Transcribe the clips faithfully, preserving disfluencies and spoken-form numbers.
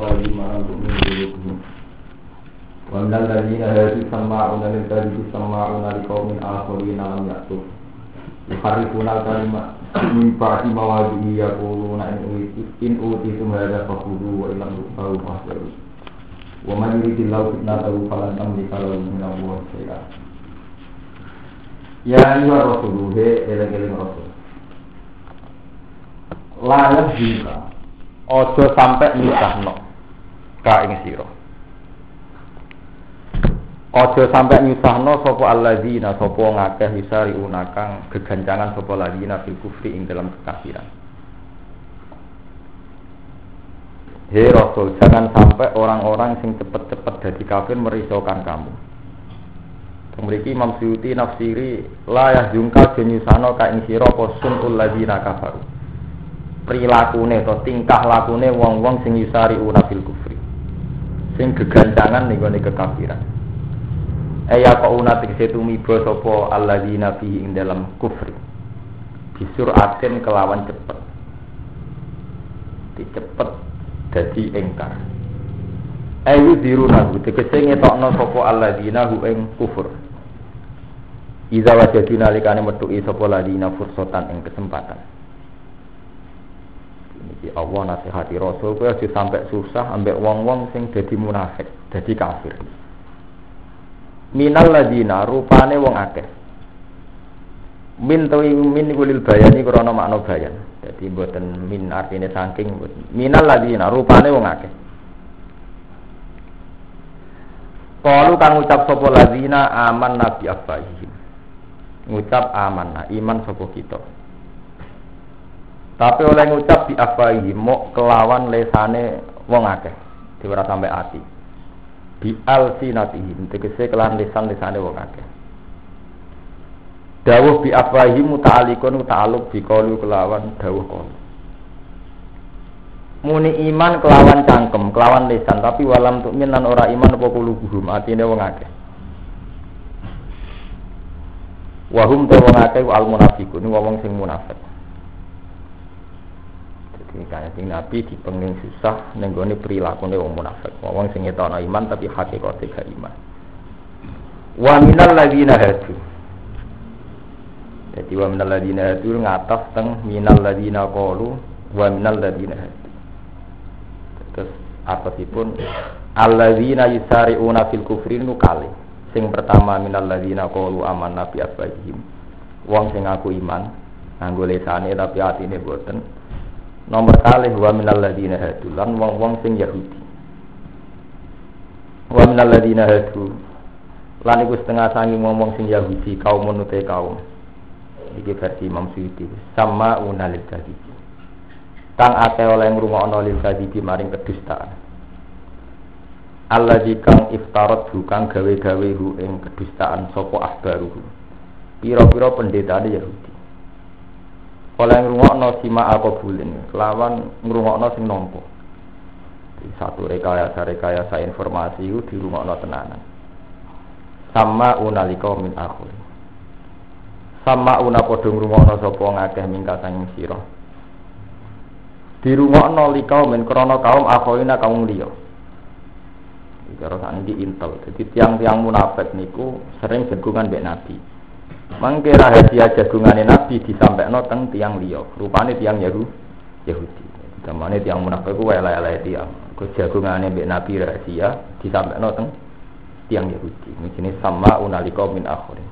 lima untuk minggu. Wa minal ladzina hadu sama'una lil kadhibi sama'una liqaumin akharina lam ya'tu. Yuharrifuna al-kalima min ba'di mawadhihi yaquluna in utitum hadza fakhudhu wa illam tu'tu fahdaru. Wa man yuridillahu fitnatahu falan tamlika lahu min Allahi shay'a. Ya ayyuhar rasuluh eling-eling rasul. Layak juga ojo sampai nyusahno ka ing sira. Ojo sampai nyusahno sapa alladzina sapa ngakeh wisariuna kang gegancangan sapa alladzina fil kufri ing dalam kekafiran. Hei Rasul, jangan sampai orang-orang sing cepet-cepet dadi kafir merisaukan kamu. Memiliki Imam Suyuti nafsiri la yahzunka jenyusano ka ing sira apa sunul ladzina kafaru. Prilakune to tingkah lakune wong-wong sing yusariuna fil kufri. Sing gegancangan ning gone kekafiran. Aya kauna tegese tumiba sapa alladzina fi ing dalam kufri. Disuraten kelawan cepet. Dicepet dadi engkar. Ayu diruna tegese ngetokno sapa alladzina hu ing kufur. Iza wajadu nalikane metuki sapa ladina fursatan ing kesempatan. Iki Allah nasihati Rasul kowe aja sampai susah ambek wong-wong sing dadi munafik, dadi kafir. Minal ladina rupane wong akeh. Min tawi min gulil bayani krana makna bayan. Dadi mboten min artine saking minal ladina rupane wong akeh. Qalu kang ucap sapa ladina aman nabi afahihim. Ngucap amanah iman sapa kita. Tapi oleh ngucap di afahihim mok kelawan lesane wong akeh diwara sampai ati. Bi alsinatihim tegese kelawan lesan-lesane wong akeh. Dawuh bi afahihim muta'alliqun ta'alluq bi qalu kelawan dawuh qalu. Muni iman kelawan cangkem, kelawan lisan, tapi walam tu'min lan ora iman apa kulubuhum, atine wong akeh. Wahum te wong akeh al munafiqun, wong sing munafik. Jadi kanjeng Nabi dipenging susah ning gone prilakune wong munafik, wong sing ngetokno iman tapi hakikate gak iman. Wa minal ladzina hadu. Jadi wa minal ladzina hadu ngataf teng minal ladzina qalu wa minal ladzina hadu. Terus apasipun alladzina yusari'una fil kufri nu kali. Sing pertama minal ladzina qalu amanna bi afwahihim. Wong sing ngaku iman nganggo lesane tapi atine boten. Nomor kalih wa minal ladzina hadu lan wong-wong sing Yahudi. Wa minal ladzina hadu lan iku setengah sangi wong-wong sing Yahudi kaum menute kaum. Iki versi Imam Suyuti sama unalil kadhib. Kang akeh oleh ngrungokno lil kadhibi maring kedustaan. Allazi kang iftarat kang gawe-gawe hu ing kedustaan sapa ahbaruhu. Pira-pira pendetane Yahudi. Oleh ngrungokno sima aqbulin, kelawan ngrungokno sing nampa. Satu rekayasa-rekayasa informasi iku dirungokno tenanan. Sama unalika min akhir. Sama una padha ngrungokno sapa ngakeh mingka sang sira. Dirungokno li kaum men krana kaum akhoina kaum liya. Iki karo saniki intel. Dadi tiang-tiang munafik niku sering jagungan mbek Nabi. Mangke rahasia jagungane Nabi disampaikno teng tiang liya. Rupane tiang Yahudi. Yahudi. Zamane tiang munafik ku elek-elek tiang. Ku jagungane mbek Nabi rahasia disampaikno teng tiang Yahudi. Iki sama unalika min akhirin.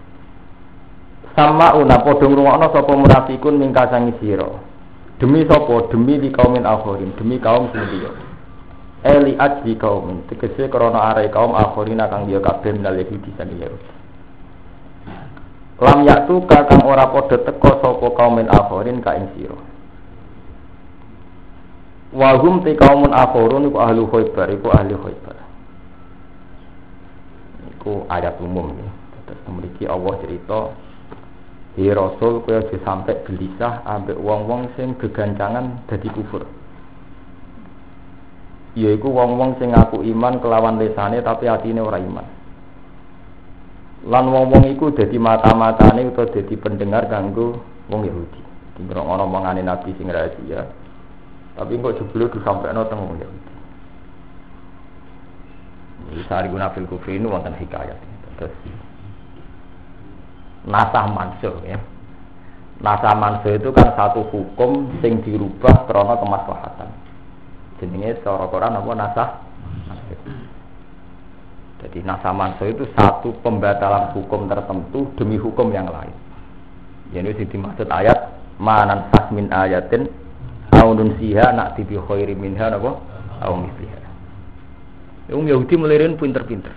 Sama una padha ngrungokno sapa munafikun mingka sangi sira. Demi sapa? Demi di kaumin akhirin, demi kaum sing liya. Eli ajli kaumin, tegese krana are kaum akhirina kang liya kabeh minal Yahudi sang Yahudi. Lam yaktu kang ora padha teka sapa kaumin akhirin ka ing sira. Wa hum ti kaumun akhirun iku ahli Khaibar, iku ahli Khaibar. Iku ayat umum ya. Terus mriki Allah cerita Hi Rasul kowe aja sampe gelisah ambek wong-wong sing gegancangan dadi kufur. Yaiku wong-wong sing ngaku iman kelawan lesane tapi atine ora iman. Lan wong-wong iku dadi mata-matane utawa dadi pendengar kanggo wong Yahudi. Dingrokno omongane Nabi sing rahasia. Tapi kok jebule disampaikno teng wong Yahudi. Yusari'una fil kufri ini wonten hikayat. Terus nasah mansuh ya. Nasah mansuh itu kan satu hukum sing dirubah karena kemaslahatan. Jenenge secara Quran apa nasah mansuh. Jadi nasah mansuh itu satu pembatalan hukum tertentu demi hukum yang lain. Ini sing dimaksud ayat manan sah min ayatin au nunsiha na'ti bi khairi minha napa au misliha. Wong Yahudi melirin pinter-pinter.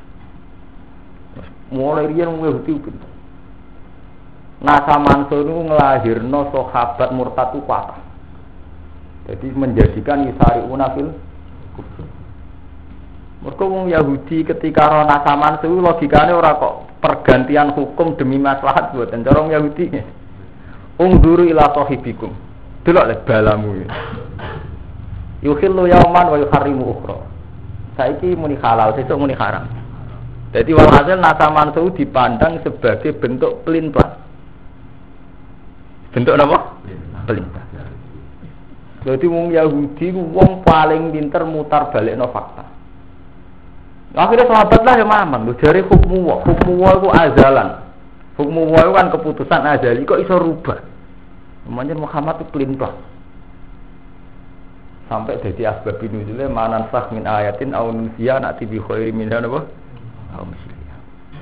Mulai riyen wong Yahudi pinter. Nasa manso itu ngelahirno sahabat murtad itu kuat. Jadi menjadikan yusari'una fil kufur. Mergo wong Yahudi ketika ro nasa manso logikane ora kok pergantian hukum demi maslahat boten cara wong Yahudi. Ungduru ila sahibikum. Delok le balamu. Yukhillu yauman wa yuharrimu ukhra. Saiki muni halal, sesuk muni haram. Jadi walhasil nasaman itu dipandang sebagai bentuk pelintang. Bentuk apa? Pelintang. Jadi wong Yahudi wong paling pinter mutar balikno fakta. Akhirnya sahabat lah yang mamang, lu jari hukmu wa, hukmu wa itu azalan. Hukmu wa itu kan keputusan azali, kok iso rubah. Namanya Muhammad itu pelintang. Sampai jadi asbab nuzulnya manan sah min ayatin au nunsiya na'ti bi khairi minha apa? Au misliha.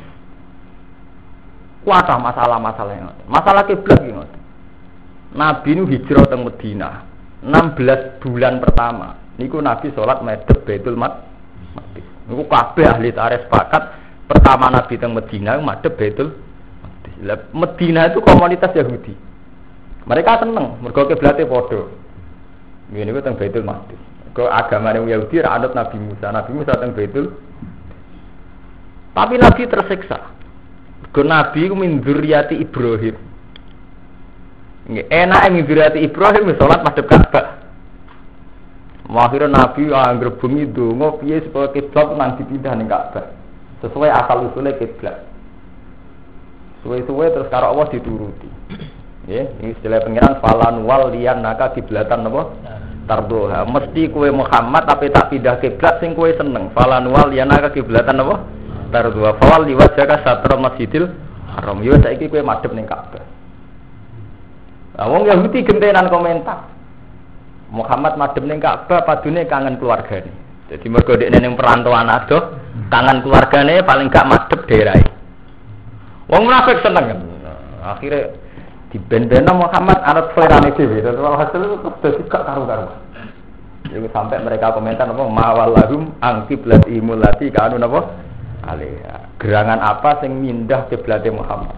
Kuatah masalah-masalah yang ada. Masalah kiblat iki ngoten. Nabi nu hijrah teng Madinah enam belas bulan pertama. Niku Nabi salat madhep Baitul Maqdis. Niku kabeh ahli tarikh sepakat pertama Nabi teng Madinah madhep Baitul Maqdis. Lah Madinah itu komunitas Yahudi. Mereka seneng mergo kiblate padha. Ini ku teng Baitul Maqdis. Ke agama Yahudi ra anut Nabi Musa. Nabi Musa teng Baitul. Tapi Nabi tersiksa. Ke Nabi ku min dzurriyyati Ibrahim. Nggih, enake min dzurriyyati Ibrahim salat madhep Ka'bah. Akhire Nabi anggere bengi donga piye supaya kiblat nang dipindah ning Ka'bah. Sesuai asal usule kiblat. Suwe-suwe terus karo Allah dituruti. Ya, ini istilah pengiran falan wal liyan naka kiblatan apa? Tardoha. Mesti kue Muhammad tapi tak pindah kiblat sing kue seneng. Falan wal liyan naka kiblatan apa? Tardoha. Fawal liwajaka satra masjidil haram. Yo saiki kue madhep ning Ka'bah. Lah wong Yahudi gentenan komentar. Muhammad madhep ning Ka'bah padune kangen keluargane. Jadi mergo dekne ning perantauan adoh, kangen keluargane paling gak madhep daerahe. Wong munafik seneng. Akhirnya di benda Muhammad anak selerane dhewe dan walhasil itu dadi gak karu-karuan. Jadi sampai mereka komentar apa mawallahum ang qiblatihimul lati kanu napa alaiha. Gerangan apa sing mindah kiblate Muhammad.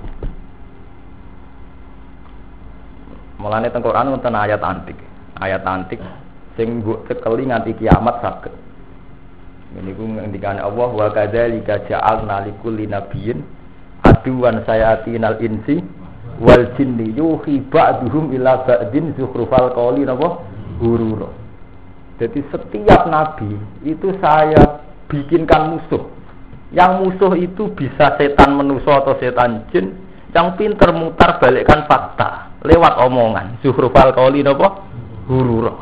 Mulane teng Quran wonten ayat antik. Ayat antik sing mbok cekeli nganti kiamat saged. Niku ngendikane Allah wa kadzalika ja'alna likulli nabiyyin aduwan sayatinal insi wal jinni yuhi ba'duhum ila ba'din zukhrufal qawli napa hurura. Jadi setiap nabi itu saya bikinkan musuh. Yang musuh itu bisa setan manusia atau setan jin yang pintar mutar balikkan fakta lewat omongan. Zukhrufal qawli napa hurura.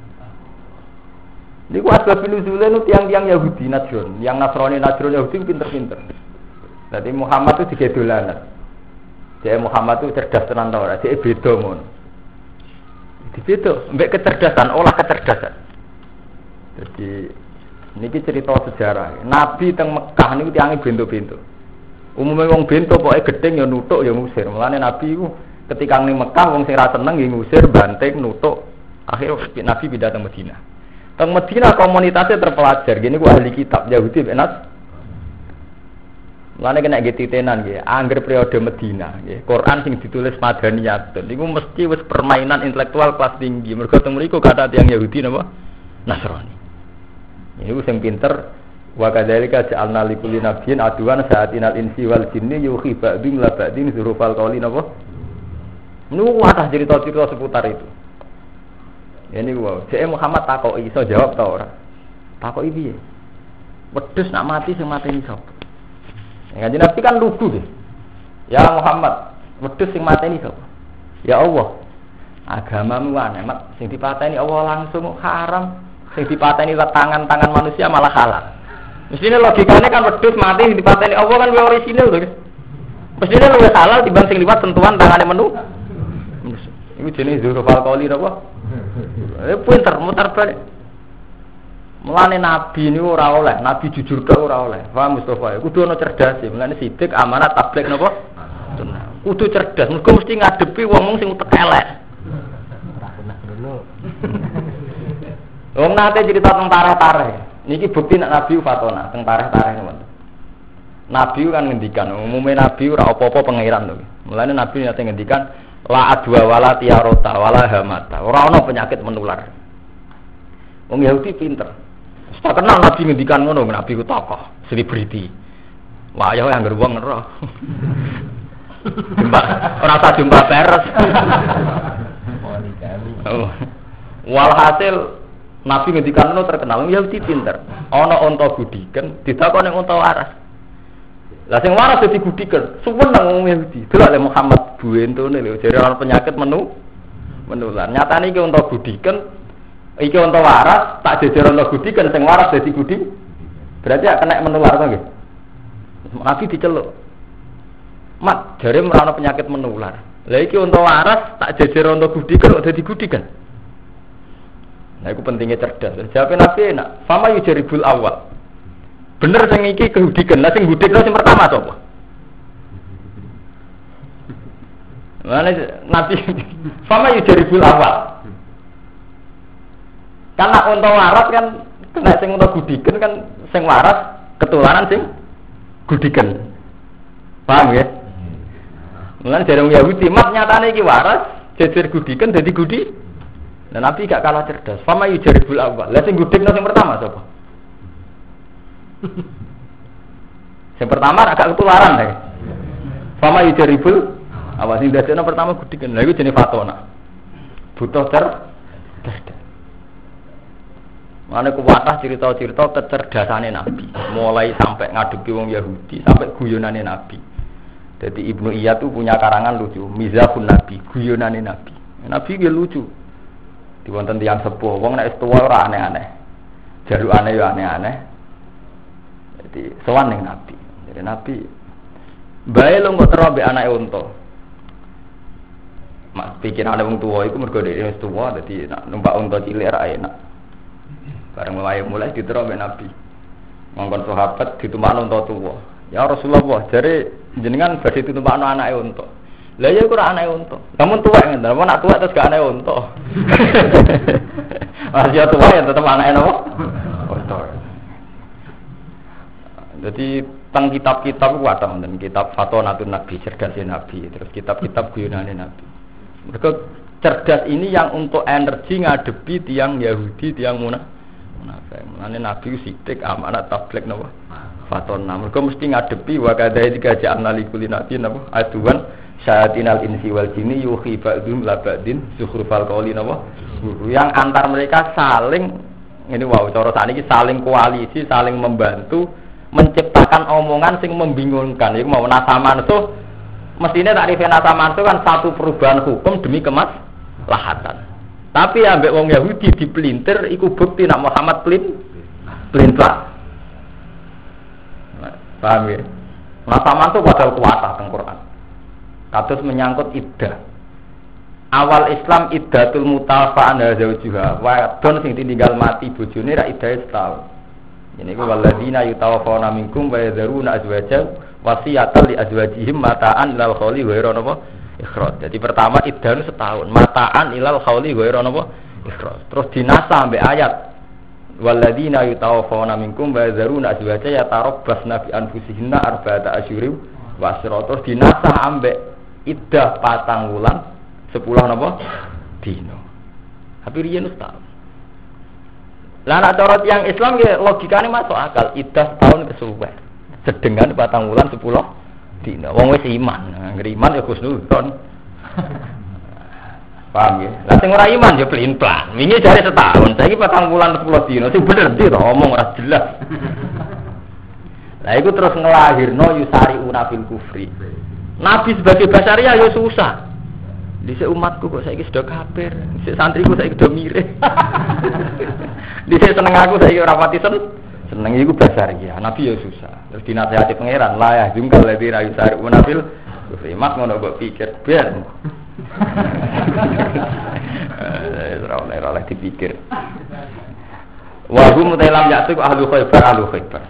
Niku asbab nuzule nu tiang-tiang Yahudi Najran, yang Nasrani Najran Yahudi pinter-pinter. Jadi Muhammad itu digedolanan. Dia Muhammad itu cerdas tenan ta ora? Dia beda mon. Dibeda, mbek kecerdasan, olah kecerdasan. Jadi niki cerita sejarah. Nabi teng Mekah niku tiange bento-bento. Umume wong bento pokoke gedeng ya nutuk ya ngusir. Mulane Nabi iku ketika ning Mekah wong sing ra seneng ya ngusir, banting, nutuk. Akhirnya Nabi pindah teng Madinah. Teng Madinah komunitasnya terpelajar. Gini ku ahli kitab Yahudi benar. Mulane kena getitenan nggih, angger periode Medina nggih. Quran sing ditulis Madaniyat. Niku mesti wis permainan intelektual kelas tinggi. Mergo teng mriku kata tiyang Yahudi napa? Nasrani. Niku sing pinter wa kadzalika ja'alna likulli nabiyyin aduwan sa'atinal insi wal jinni yuhi ba'dhum la ba'din zurufal qawli napa? Niku wadah cerita-cerita seputar itu. Ya niku wae. Jek Muhammad takoki iso jawab ta ora? Takoki piye? Wedhus nak mati sing mateni sapa? Ya Nabi kan lugu deh. Ya Muhammad, wedhus sing mateni sapa? Ya Allah. Agamamu aneh, mat sing dipateni Allah langsung haram, sing dipateni tangan-tangan manusia malah halal. Mestine logikane kan wedhus mati dipateni Allah kan luwih orisinil to. Mestine luwih halal timbang sing liwat sentuhan tangane menu. Iku jenenge zuruf alkoholi napa? Eh pinter mutar balik. Mulane nabi niku ora oleh, nabi jujur tok ora oleh. Paham Mustofa? Kudu ana cerdas ya. Mulane sidik amanat tabligh napa? Kudu cerdas, mergo mesti ngadepi wong sing utek elek. Ora kena ngono. Wong nate cerita tentang tareh-tareh. Niki bukti nek nabi fatona teng tareh-tareh niku. Nabi kan ngendikan, umume nabi ora apa-apa pangeran to. Mulane nabi nate ngendikan la adwa wala tiarota wala hamata. Ora ana penyakit menular. Wong Yahudi pinter. Tak kenal nabi ngendikan ngono, nabi ku tokoh, selebriti. Wah, ya anggere wong ngeroh. Jumpa ora usah jumpa peres. Oh. Walhasil nabi ngendikan ngono terkenal, Yahudi pinter. Ana unta gudiken, ditakoni unta waras. Lah sing waras dadi gudiken, suweneng wong Yahudi. Delok Muhammad buentone lho, jare ana penyakit menu menular. Nyatane iki unta gudiken, iki unta waras, tak jejer unta gudiken sing waras dadi gudi. Berarti ya kena menular to nggih. Nabi diceluk. Mat, jare merana penyakit menular. Lah iki unta waras tak jejer unta gudiken kok dadi gudiken. Nah, itu pentingnya cerdas. Jawabin Nabi enak. Fama yujaribul awal. Bener sing iki kehudikan. Lah sing gudikno sing pertama sapa? Mana Nabi Fama yujaribul awal. Karena unta waras kan kena sing unta gudikan kan sing waras ketularan sing gudikan. Paham ya? Mulane jarang Yahudi mat nyatane iki waras, jejer gudikan dadi gudi. Nah, Nabi gak kalah cerdas. Fama yujaribul awal. Lah sing gudikno sing pertama sapa? Sing pertama agak ketularan deh. Fama yujaribul awal sing dadekno pertama gudikan. Lah iku jenenge fatona. Butuh cer cerdas. Mane kuwatah cerita-cerita kecerdasane Nabi, mulai sampai ngadepi wong Yahudi, sampai guyonane Nabi. Jadi Ibnu Iyad tuh punya karangan lucu, Mizahun Nabi, guyonane Nabi. Nabi ge lucu. Di wonten tiyang sepuh, wong nek wis tuwa ora aneh-aneh. Jalukane yo aneh-aneh. Jadi sowan ning Nabi. Jadi Nabi bae lu kok tero mbek anake unta. Mak pikirane wong tuwa iku mergo dhewe wis tuwa, dadi nek numpak unta cilik ora enak. Bareng mulai mulai ditero mbek Nabi. Ngongkon sahabat ditumpakno unta tuwa. Ya Rasulullah, jare jenengan badhe ditumpakno anake unta. Lah ya ora anake unta. Namun tuwek ngene, namun nak tuwek terus gak anake unta. Masih tuwek ya tetep anake napa? Unta. Jadi teng kitab-kitab ku ada wonten kitab Fatonatun Nabi, cerdasé Nabi, terus kitab-kitab guyonane Nabi. Mereka cerdas ini yang untuk energi ngadepi tiang Yahudi, tiang munafik. Mulane Nabi sidik amanat tabligh napa? Fatona. Mereka mesti ngadepi wa kadai dikajak analikul nabi napa? Aduan syayatinal insi wal jinni yuhi ba'dhum la ba'din zukhrufal qawli napa? Yang antar mereka saling ini wow cara sakniki saling koalisi, saling membantu menciptakan omongan sing membingungkan. Iku mau nasaman itu mestine takrifé nasaman itu kan satu perubahan hukum demi kemaslahatan. Tapi ambek wong Yahudi dipelintir iku bukti nak Muhammad pelin pelintar. Paham ya? Nasaman itu padahal kuatah teng Quran. Kados menyangkut iddah. Awal Islam iddatul mutafa'an zaujuha. Wadon sing ditinggal mati bojone ra iddahe setahun. Ini ku waladina yutawaffawna minkum wa yadharuna azwajan wasiyatan li azwajihim mata'an ilal khawli ghairu napa ikhraj. Jadi pertama iddah setahun, mata'an ilal khawli ghairu napa ikhraj. Terus dinasah ambek ayat waladina yutawaffawna minkum wa yadharuna azwajan yatarabbasna bi anfusihinna arba'ata asyurin wa asra. Terus dinasah ambek iddah patang wulan sepuluh napa dino. Tapi riyen setahun. Lah nek cara tiyang Islam ya logikane masuk akal, iddah tahun kesuwen. Sedengan patang wulan sepuluh dina. Wong wis iman, ngger iman ya husnudzon. Paham ya? Lah sing ora iman ya pelin-pelan. Wingi jare setahun, saiki patang wulan sepuluh dina. Sing bener ndi to omong ora jelas. Lah iku terus ngelahirno yusari unafil kufri. Nabi sebagai basaria ya susah. Dhisik umatku kok saiki sudah kafir, dhisik santriku saiki sudah mirip. Dhisik seneng aku saiki ora pati sen Seneng iku basariah. Nabi ya susah. Terus dinasihati pangeran, la ya jungkal ladzi ra yusari nabil. Mak ngono kok pikir ben. Eh ora oleh ora dipikir. Wa hum tailam ya'tu ahlu Khaibar ahlu Khaibar.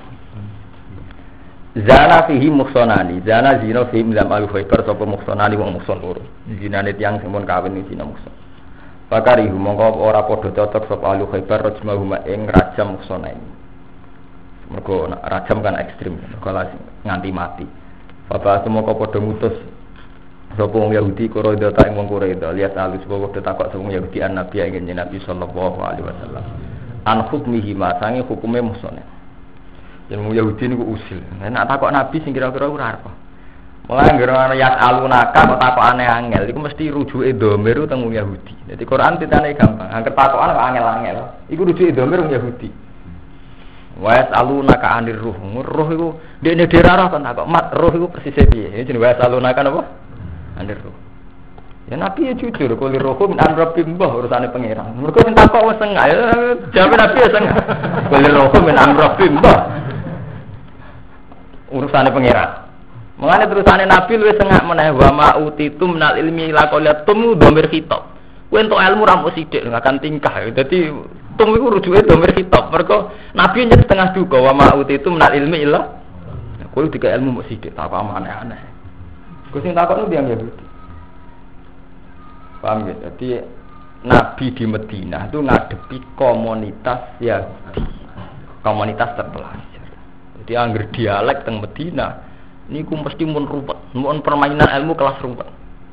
Zana fihi muhsanani, zana zina fihi lam ahlu Khaibar sapa muhsanani wong muhsan loro. Zinane tiyang sing mun kawin iki zina muhsan. Bakarihu mongko ora padha cocok sapa ahlu Khaibar rajmahuma ing rajam muhsanani. Mergo rajam kan ekstrim, kalau nganti mati. Bapak semua kau pada mutus sapa wong Yahudi Quraidha ta ing wong Quraidha lihat alus bawa pada takok sapa wong Yahudi an Nabi ingin Nabi sallallahu alaihi wasallam an hukmihi ma sange hukume musone yen wong Yahudi niku usil nek takok Nabi sing kira-kira ora apa mulai ngira ana yas alunaka kok takok aneh angel iku mesti rujuke dhamir teng wong Yahudi dadi Quran titane gampang angger takokan kok angel-angel iku rujuke dhamir wong Yahudi. Wa salunaka anir ruh. Ruh iku dekne derarah kan kok mat ruh iku persis piye? Jenenge wa salunaka napa? Anir ruh. Ya Nabi ya jujur kuli ruh min amrabim mbah urusane pangeran. Mergo sing takok wis sengah. Jawab Nabi ya sengah. Kuli ruh min amrabim mbah. Urusane pangeran. Mengane terusane Nabi luwih sengak meneh wa ma utitum minal ilmi la qalatum dhamir khitab. Kowe entuk ilmu ra mung sithik akan tingkah. Dadi tum iku rujuke dhamir khitab. Mergo Nabi nyet setengah duka wa ma utitum minal ilmi illa. Kowe dika ilmu mung sithik tak apa aneh-aneh. Kowe sing takon ndang Yahudi. Paham ya? Jadi Nabi di Madinah itu ngadepi komunitas Yahudi. Komunitas terpelajar. Jadi angger dialek teng Madinah niku mesti mun ruwet, mun permainan ilmu kelas ruwet.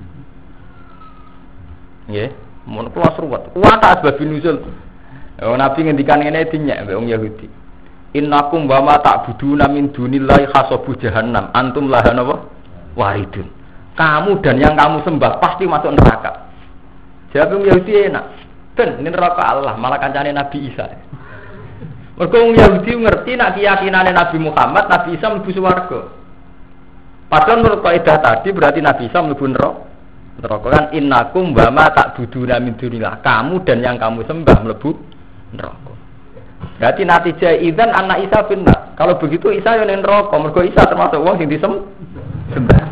Nggih, mun kelas ruwet. Kuat asbab nuzul. Oh, Nabi ngendikan ngene dinyek mbek wong Yahudi. Innakum wa ma ta'buduna min dunillahi khasabu jahannam antum laha napa? Waridun. Kamu dan yang kamu sembah pasti masuk neraka. Jawab wong Yahudi enak. Ben neraka Allah, malah kancane Nabi Isa. Mergo wong Yahudi ngerti nek keyakinane Nabi Muhammad, Nabi Isa mlebu swarga. Padahal menurut kaidah tadi berarti Nabi Isa mlebu neraka. Neraka kan innakum wa ma ta'buduna min dunillah. Kamu dan yang kamu sembah mlebu neraka. Berarti natijah idzan anak Isa finnar. Kalau begitu Isa yo ning neraka, mergo Isa termasuk wong sing disembah.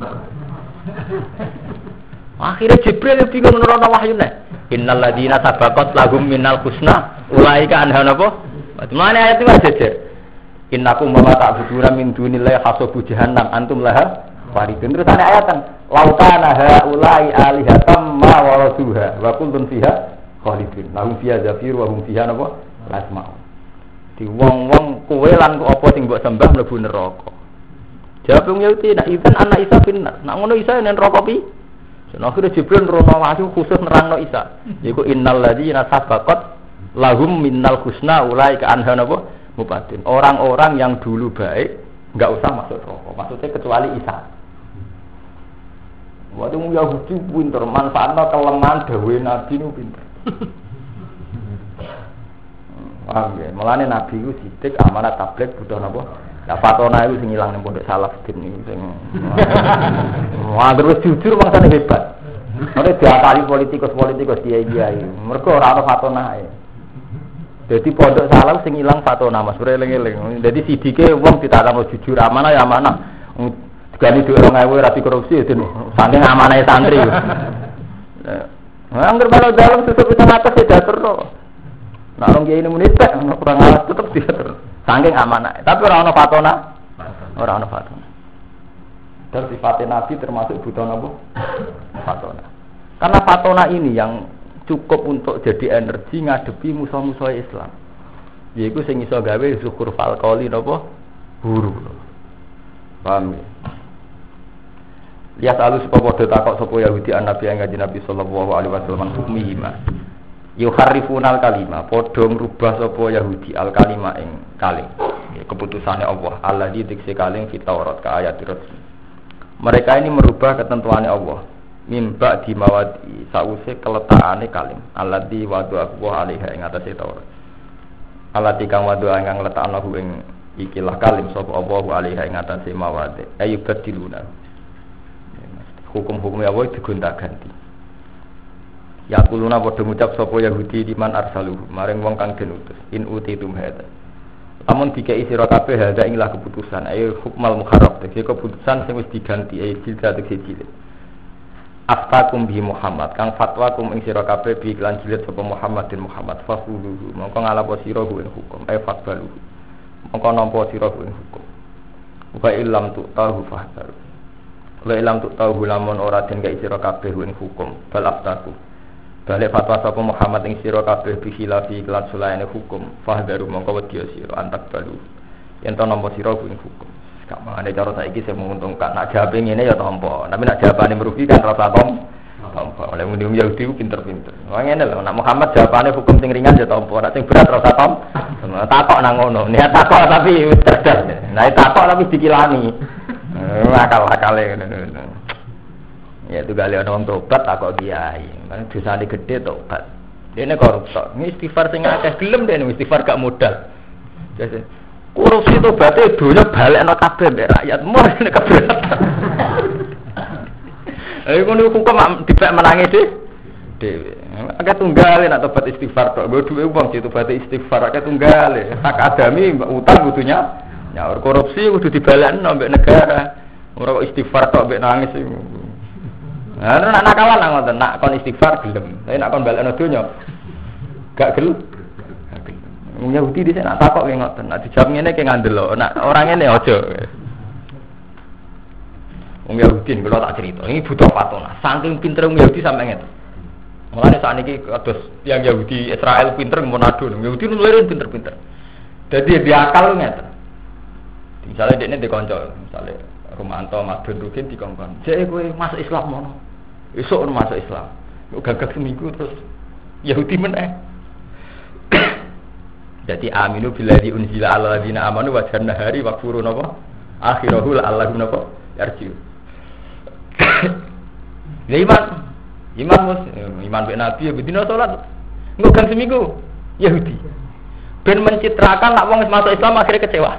Akhirnya Jibril bingung menerona wahyune. Innal ladzina sabaqat lahum minal husna ulaika anha napa? Mana ayat itu aja. Innakum ma ta'buduna min dunillahi hasabu jahannam antum laha waridun. Terus ada ayat kan lautana haula'i alihatam ma waraduha wa kullun fiha khalidun. Lahum fiha zafir wa hum fiha napa? Lasma'u. Di wong-wong kowe lan apa sing mbok sembah mlebu neraka. Jawab wong Yahudi, nak idzan anak Isa finnar. Nak ngono Isa yen neraka pi? Yen akhire Jibril rono wahyu khusus nerangno Isa. Yaiku innal ladzina sabaqat lahum minnal husna ulaika anha napa? Mupatin. Orang-orang yang dulu baik enggak usah masuk neraka. Maksudnya kecuali Isa. Waktu wong Yahudi pinter manfaatno kelemahan dawuhe Nabi niku pinter. Paham ya? Mulane Nabi ku sithik amanat tabligh butuh napa? Lah fatona iku sing ilang ning pondok salaf din niku sing. Wah, terus jujur mangsane hebat. Ora diakali politikus-politikus kiai-kiai. Mergo ora ana fatona ae. Dadi pondok salaf sing ilang fatona Mas, eling-eling. Dadi sidike wong ditakano jujur amanah ya amanah. Digani dhuwit dua ribu rapi korupsi den saking amanahe santri. Nah, angger balo dalem susuk bisa ngates diaturno. Nek orang kiai ini menit tak, kurang alas tetap diatur. Saking amanah. Tapi orang ono fatona, orang ono fatona. Dan sifat Nabi termasuk butuh nopo fatona. Karena fatona ini yang cukup untuk jadi energi ngadepi musuh-musuh Islam. Yaiku sing iso gawe syukur falqoli nopo huru. Paham ya? Lihat alus podo takok sapa Yahudi an Nabi yang ngaji Nabi sallallahu alaihi wasallam hukmihi ma. Yuharrifunal kalima, padha ngrubah sapa Yahudi al kalima ing kaling. Keputusane Allah, alladzi dikse kaling fi Taurat ka ayat resmi. Mereka ini merubah ketentuannya Allah. Mimba di mawadi sause keletakane kalim. Alladzi wadu Allah alaiha ing atase Taurat. Alladzi kang wadu ingkang letakna ing ikilah kalim sapa Allah alaiha ing atase mawadi. Ayubadiluna. Hukum-hukum Allah digonta-ganti. Ya kuluna padha ngucap sapa Yahudi di man arsaluhu maring wong kang den utus in utitum hada Lamun dikei sira kabeh hada inilah keputusan ayo hukmal muharrab tegese keputusan sing wis diganti ayo jilid tegese jilid aftakum bi Muhammad kang fatwa kum ing sira kabeh bi iklan jilid sapa Muhammadin Muhammad fasuluhu mongko ngalapo sira kuwi hukum ayo fatbalu mongko nampa sira kuwi hukum wa illam tu tahu fahdar wa illam tu tahu lamun ora den gawe sira kabeh kuwi hukum bal aftakum balik fatwa sapa Muhammad ing sira kabeh bi khilafi kelan sulaine hukum fahdaru mongko wedi sira antak balu yen to nampa sira kuwi hukum gak mangane cara saiki sing menguntungkan nak jawabe ngene ya tampa tapi nak jawabane merugikan rasa tom tampa oleh muni Yahudi ku pinter-pinter wah ngene lho nak Muhammad jawabane hukum sing ringan ya tampa nak sing berat rasa tom takok nang ngono niat takok tapi wis cerdas nah takok tapi dikilani akal-akale ngono ya itu kali orang tobat tak kok kiai kan dosane gede tobat dene koruptor ini istighfar sing akeh gelem dene istighfar gak modal jadi korupsi tobaté donya balekno kabeh mbek rakyat mur nek keberatan ayo ngono hukum dibek menangi dhewe akeh tunggal nek tobat istighfar tok nggo dhuwit wong tobat istighfar akeh tunggal hak adami utang kudunya nyaur korupsi kudu dibalekno mbek negara ora kok istighfar tok mbek nangis iku. Nah, nak nakalan lah ngoten, nak kon istighfar gelem. Tapi nak kon balekno donya gak gelem. Wong Yahudi dhisik nak takok ki ngoten, nak dijawab ngene ki ngandel, nak ora ngene aja. Wong Yahudi kula tak cerita, ini butuh patona. Saking pintere wong Yahudi sampe ngene. Mulane sakniki kados yang Yahudi Israel pinter Monado, Yahudi nulirin pinter-pinter. Dadi dia akal ngeten. Misalnya dekne dikonco, misalnya Romanto Madun Rukin dikongkon. Jek kowe masuk Islam mono. Esuk masuk Islam. Kok gagak seminggu terus Yahudi meneh. Jadi aminu billahi unzila ala ladina amanu wa janna hari wa furu napa? Akhirahul Allahu napa? Yarjiu. Ya iman. Iman mus, iman be nabi ya bedino salat. Engko gang seminggu Yahudi. Ben mencitrakan nak wong masuk Islam akhirnya kecewa.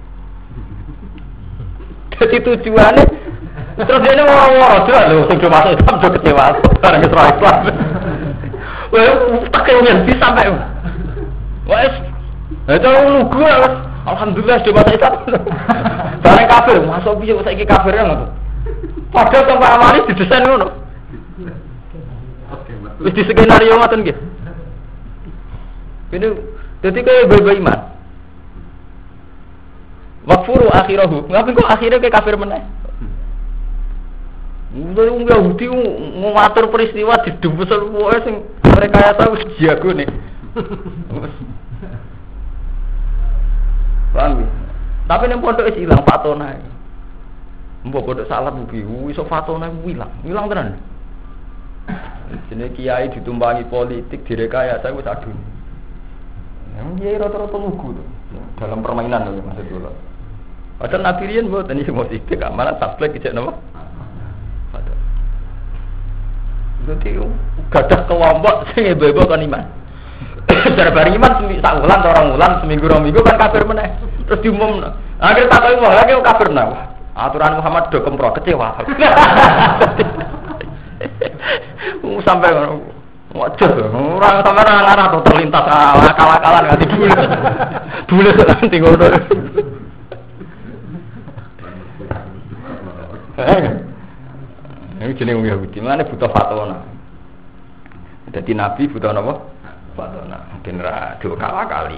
Jadi tujuannya terus dia ini woro-woro juga loh, sudah masuk Islam sudah kecewa, barang Islam Islam. Wah, pakai uang bisa sampai, wah, itu lugu lah. Alhamdulillah sudah masuk Islam. Barang kafir, masuk bisa saya iki kafirnya nggak tuh. Padahal sampai amalis didesain ngono. Wis di skenario ngoten nggih. Ini jadi kayak beba iman. Wakfuru akhirahu, ngapain kok akhirnya kayak kafir meneh? Dari orang Yahudi ngatur peristiwa di dubus semua sing mereka ya tahu jago nih. Paham? Tapi nih pondok es hilang fatona. Mbok pondok salah bubi, iso fatona hilang, hilang tenan. Jadi kiai ditumpangi politik direkayasa wis aduh. Yang kiai rata-rata lugu tuh dalam permainan loh maksud dulu. Padahal Nabi Rian buat ini semua sidik, malah tablek kecil nama. Padahal. Jadi gadah kelompok sing ibu-ibu kan iman. Darbar iman seminggu sakulan, orang ulan seminggu orang minggu kan kafir meneh. Terus diumum. Akhirnya tak tahu mau lagi kafir meneh. Aturan Muhammad do kempro kecewa. Sampai wajah orang sampai orang arah tuh terlintas akal-akalan nggak tidur. Dulu nanti ngono. Ini jenis Yahudi, mana butuh fatona. Jadi Nabi butuh apa? Fatona. Mungkin dua kala kali.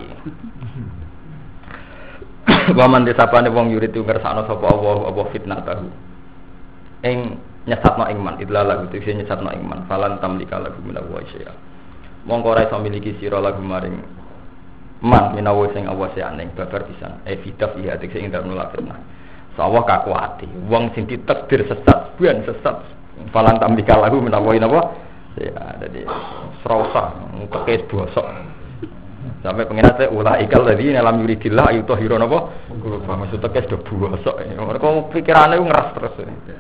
Waman desapane wong yurid itu ngersakno sapa Allah apa fitnah tahu. Ing nyesatno iman, idlah lagu itu nyesatno iman. Falan tamlika lagu minawa syai'a. Mongko ora iso miliki sira lagu maring man minawa sing awase aneh babar pisan. E fitaf iya tekse ing dalem fitnah. Sawah kakuati, wong sing ditakdir sesat, buan sesat. Falan tamlika lagu minawa napa? Ya, jadi serausa, kekes bosok. Sampai pengen saya ulah ikal tadi dalam yuridillah ayu tohiro napa? Maksudnya kekes do bosok. Mereka pikirannya ngeras terus.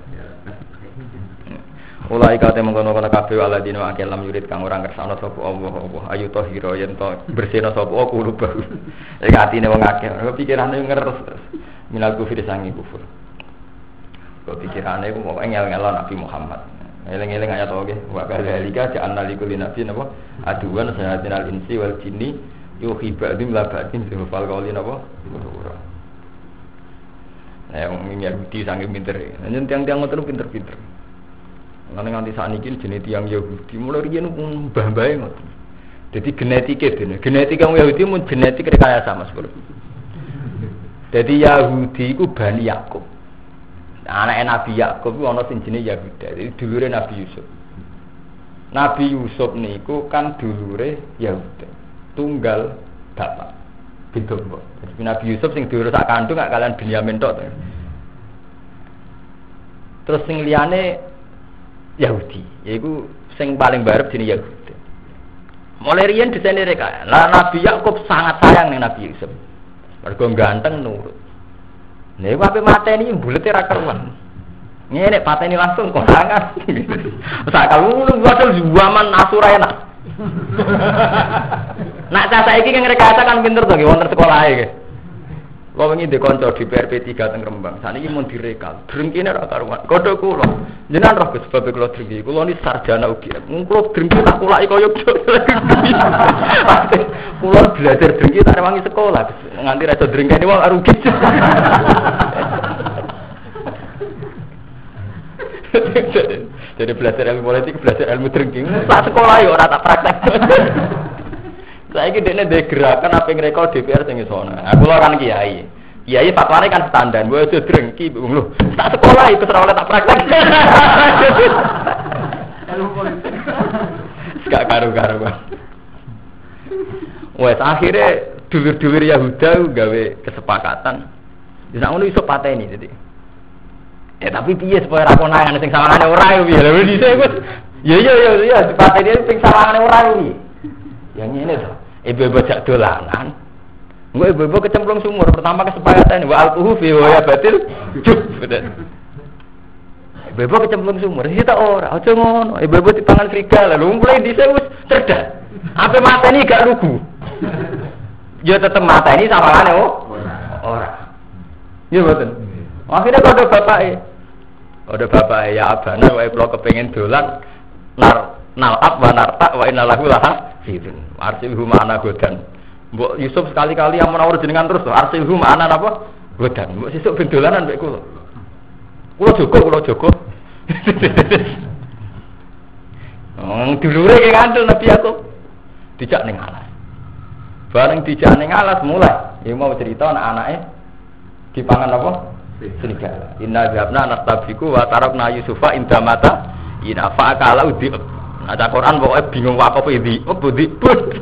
Ulah ikal temu kono-kono kabeh waladina akeh lam yurid kang ora ngersakno sapa Allah Allah ayu tohiro yen to bersihno sapa kulo baru. Iki atine wong akeh, pikirane ngeres. Minal kufir sangi kufur. Kok pikirane ku mau ngel-ngelo Nabi Muhammad. Eleng-eleng ayat oke. Wa kadzalika ja'alna likulli nabiyyin apa? Aduwan sayatinal insi wal jinni Yo hibadim labatin fal qaulin apa? Nah, yang Yahudi sange pinter. Nyen tiang-tiang ngoten pinter-pinter. Lan nganti sakniki jenenge tiang Yahudi mulai riyen mbah-mbahe ngoten. Jadi genetika dene. Genetika Yahudi mun genetik rekayasa Mas Bro. Jadi Yahudi iku Bani Yakub. Anake Nabi Yakub iku ana sing jenenge Yahuda. Jadi dulure Nabi Yusuf. Nabi Yusuf niku kan dulure Yahuda. Tunggal bapak. Beda kok. Jadi Nabi Yusuf sing dulur sak kandung gak kalian Binyamin tok. Terus sing liyane Yahudi, yaiku sing paling barep jenenge Yahuda. Mulai riyen disene reka. Lah Nabi Yakub sangat sayang ning Nabi Yusuf. Mergo ganteng nurut. Nek ape mateni bulete ra karuan. Ngene pateni langsung konangan. Sak kalung wadul zaman asura enak. Nak cah saiki kan rekayasa kan pinter to nggih wonten sekolahe nggih. Kula wingi ndek kanca di P R P tiga teng Rembang. Saniki mun direkal, drengkine ra karuan. Kodho kula. Jenengan roh sebab kula drengki. Kula ni sarjana U G M. Mung kula drengki tak kulaki kaya kula belajar drengki tak rewangi sekolah. Nganti ra iso drengkene wong rugi. Jadi belajar ilmu politik, belajar ilmu drengki. Tak sekolah yo ora tak praktek. Saiki dekne ndek gerakan apa ngrekol D P R sing iso ana. Aku lho kan kiai. Kiai fatwane kan standar, wae aja drengki lho. Tak sekolah itu ora oleh tak praktek. Ilmu politik. Gak karo-karo, Bang. Wes akhire dulur-dulur Yahuda gawe kesepakatan. Wis ngono iso pateni dadi. Ya tapi piye supaya ra konangan sing sawangane ora yo piye. Lha dhisik wis. Ya ya ya ya pateni sing sawangane ora kuwi. Yang ini to. Ibu-ibu jak dolanan. Engko ibu-ibu kecemplung sumur. Pertama kesepakatan wa alquhu fi wa batil. Cuk, betul. Ibu-ibu kecemplung sumur. Kita ora, aja ngono. Ibu-ibu dipangan serigala. Lha mulai dhisik wis cerdas. Ape mateni gak lugu. Ya tetep mateni sawangane oh. Ora. Ya betul. Akhirnya kode bapake. Kode bapake ya abana wae kula kepengin dolan nar nalab wa narta wa innalahu laha firun. Arsilhu ma'ana godan. Mbok Yusuf sekali-kali yang menawar jenengan terus to. Arsilhu ma'ana apa? Godan. Mbok sesuk ben dolanan mek kula. Kula jogo, kula jogo. Wong dulure ki ngandel Nabi Yakub. Dijak ning alas. Bareng dijak ning alas mulai. Ya mau cerita anak-anake dipangan apa? Serigala. Inna zabna nastabiku wa tarakna Yusufa indamata ina fa'akala udi. Ada Quran pokoknya bingung wakaf ini, oh budi pun.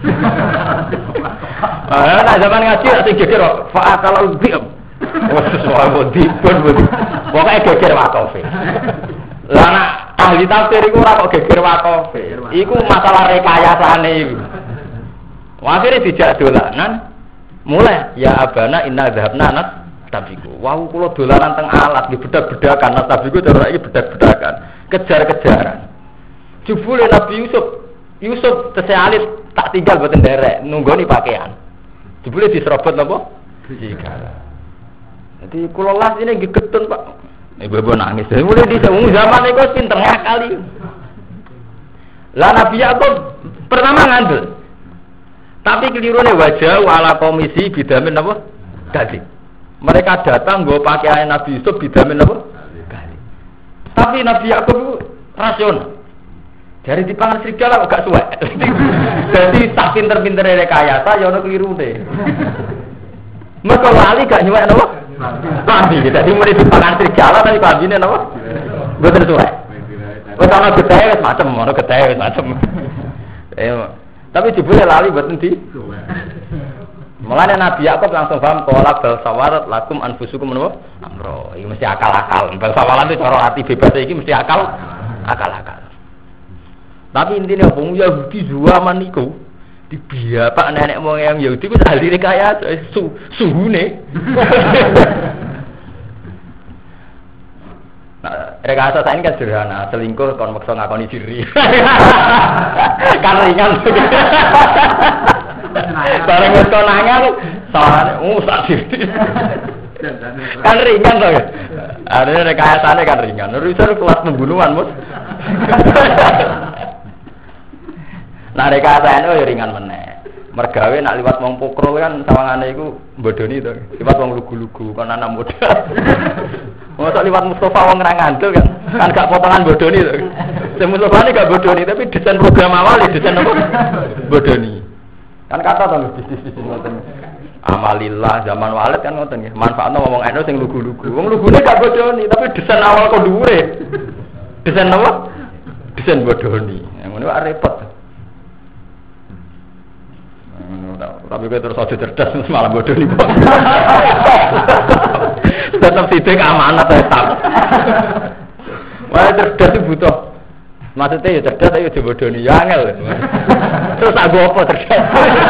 Nah zaman ngaji ada geger, fa'akala udi. Oh sesuai budi pun budi. Pokoknya geger wakaf. Lana ahli tafsir itu orang kok geger wakaf. Iku masalah rekayasane itu. Akhirnya dijak dolanan, mulai ya abana inna dhahabna nas tabiku. Wah kulo dolanan teng alat di bedak-bedakan nas tabiku cara iki bedak-bedakan, kejar-kejaran. Jebule Nabi Yusuf, Yusuf tesih alit tak tinggal boten derek nunggoni pakaian. Jebule diserobot napa? Serigala. Dadi kula las ini nggih getun, Pak. Ibu-ibu nangis. Mulai di zaman iku pinter ngakali. Lah Nabi Yakub pertama ngandel. Tapi kelirune wajah wala komisi bidamin apa? Gadi. Mereka datang nggo pakaian Nabi Yusuf bidamin apa? Gadi. Tapi Nabi Yakub itu rasional. Dari dipangan serigala kok gak suwek. Jadi tak pinter-pinter rekayasa ya ono kelirune. Mergo lali gak nyuwek napa? Lali. Dadi mulai dipangan serigala tapi kambine napa? Mboten suwek. Wis ana gedhe wis macem, ana gedhe wis macem. Eh tapi jebule lali mboten di. Mulane Nabi Yakub langsung paham qala bal sawarat lakum anfusukum menapa? Amro. Iki mesti akal-akal. Bal sawalat itu cara ati bebas iki mesti akal. Akal-akal. Tapi intinya wong Yahudi zaman niku dibiapak nenek moyang Yahudi ku ahli rekayasa su, suhune. Nah, rekayasa saya ini kan sederhana, selingkuh kon maksa ngakoni diri. Kan ringan. Bareng wis konangan salahane uh sak diri. Kan ringan to ya. Arene rekayasane kan ringan. Urusan kelas pembunuhan, Mus. Nah rekayasa itu ya ringan meneh. Mergawe nak liwat wong pokrol kan sawangane iku bodoni to. Liwat wong lugu-lugu kan anak muda. Mosok liwat Mustafa wong ra ngandel kan. Kan gak potongan bodoni to. Sing Mustafa ini gak bodoni tapi desain program awal ya desain apa? Bodoni. Kan kata to bisnis-bisnis ngoten. Amalillah zaman Walid kan ngoten nggih. Manfaatno ngomong eno sing lugu-lugu. Wong lugune gak bodoni tapi desain awal kok dhuwure. Desain apa? Desain bodoni. Yang ngene wae repot. Tapi gue terus aja cerdas malah bodoh nih bang. Tetap sidik amanat tetap. Wah cerdas itu butuh. Maksudnya ya cerdas ayo dibodoh nih ya angel. Terus aku apa cerdas?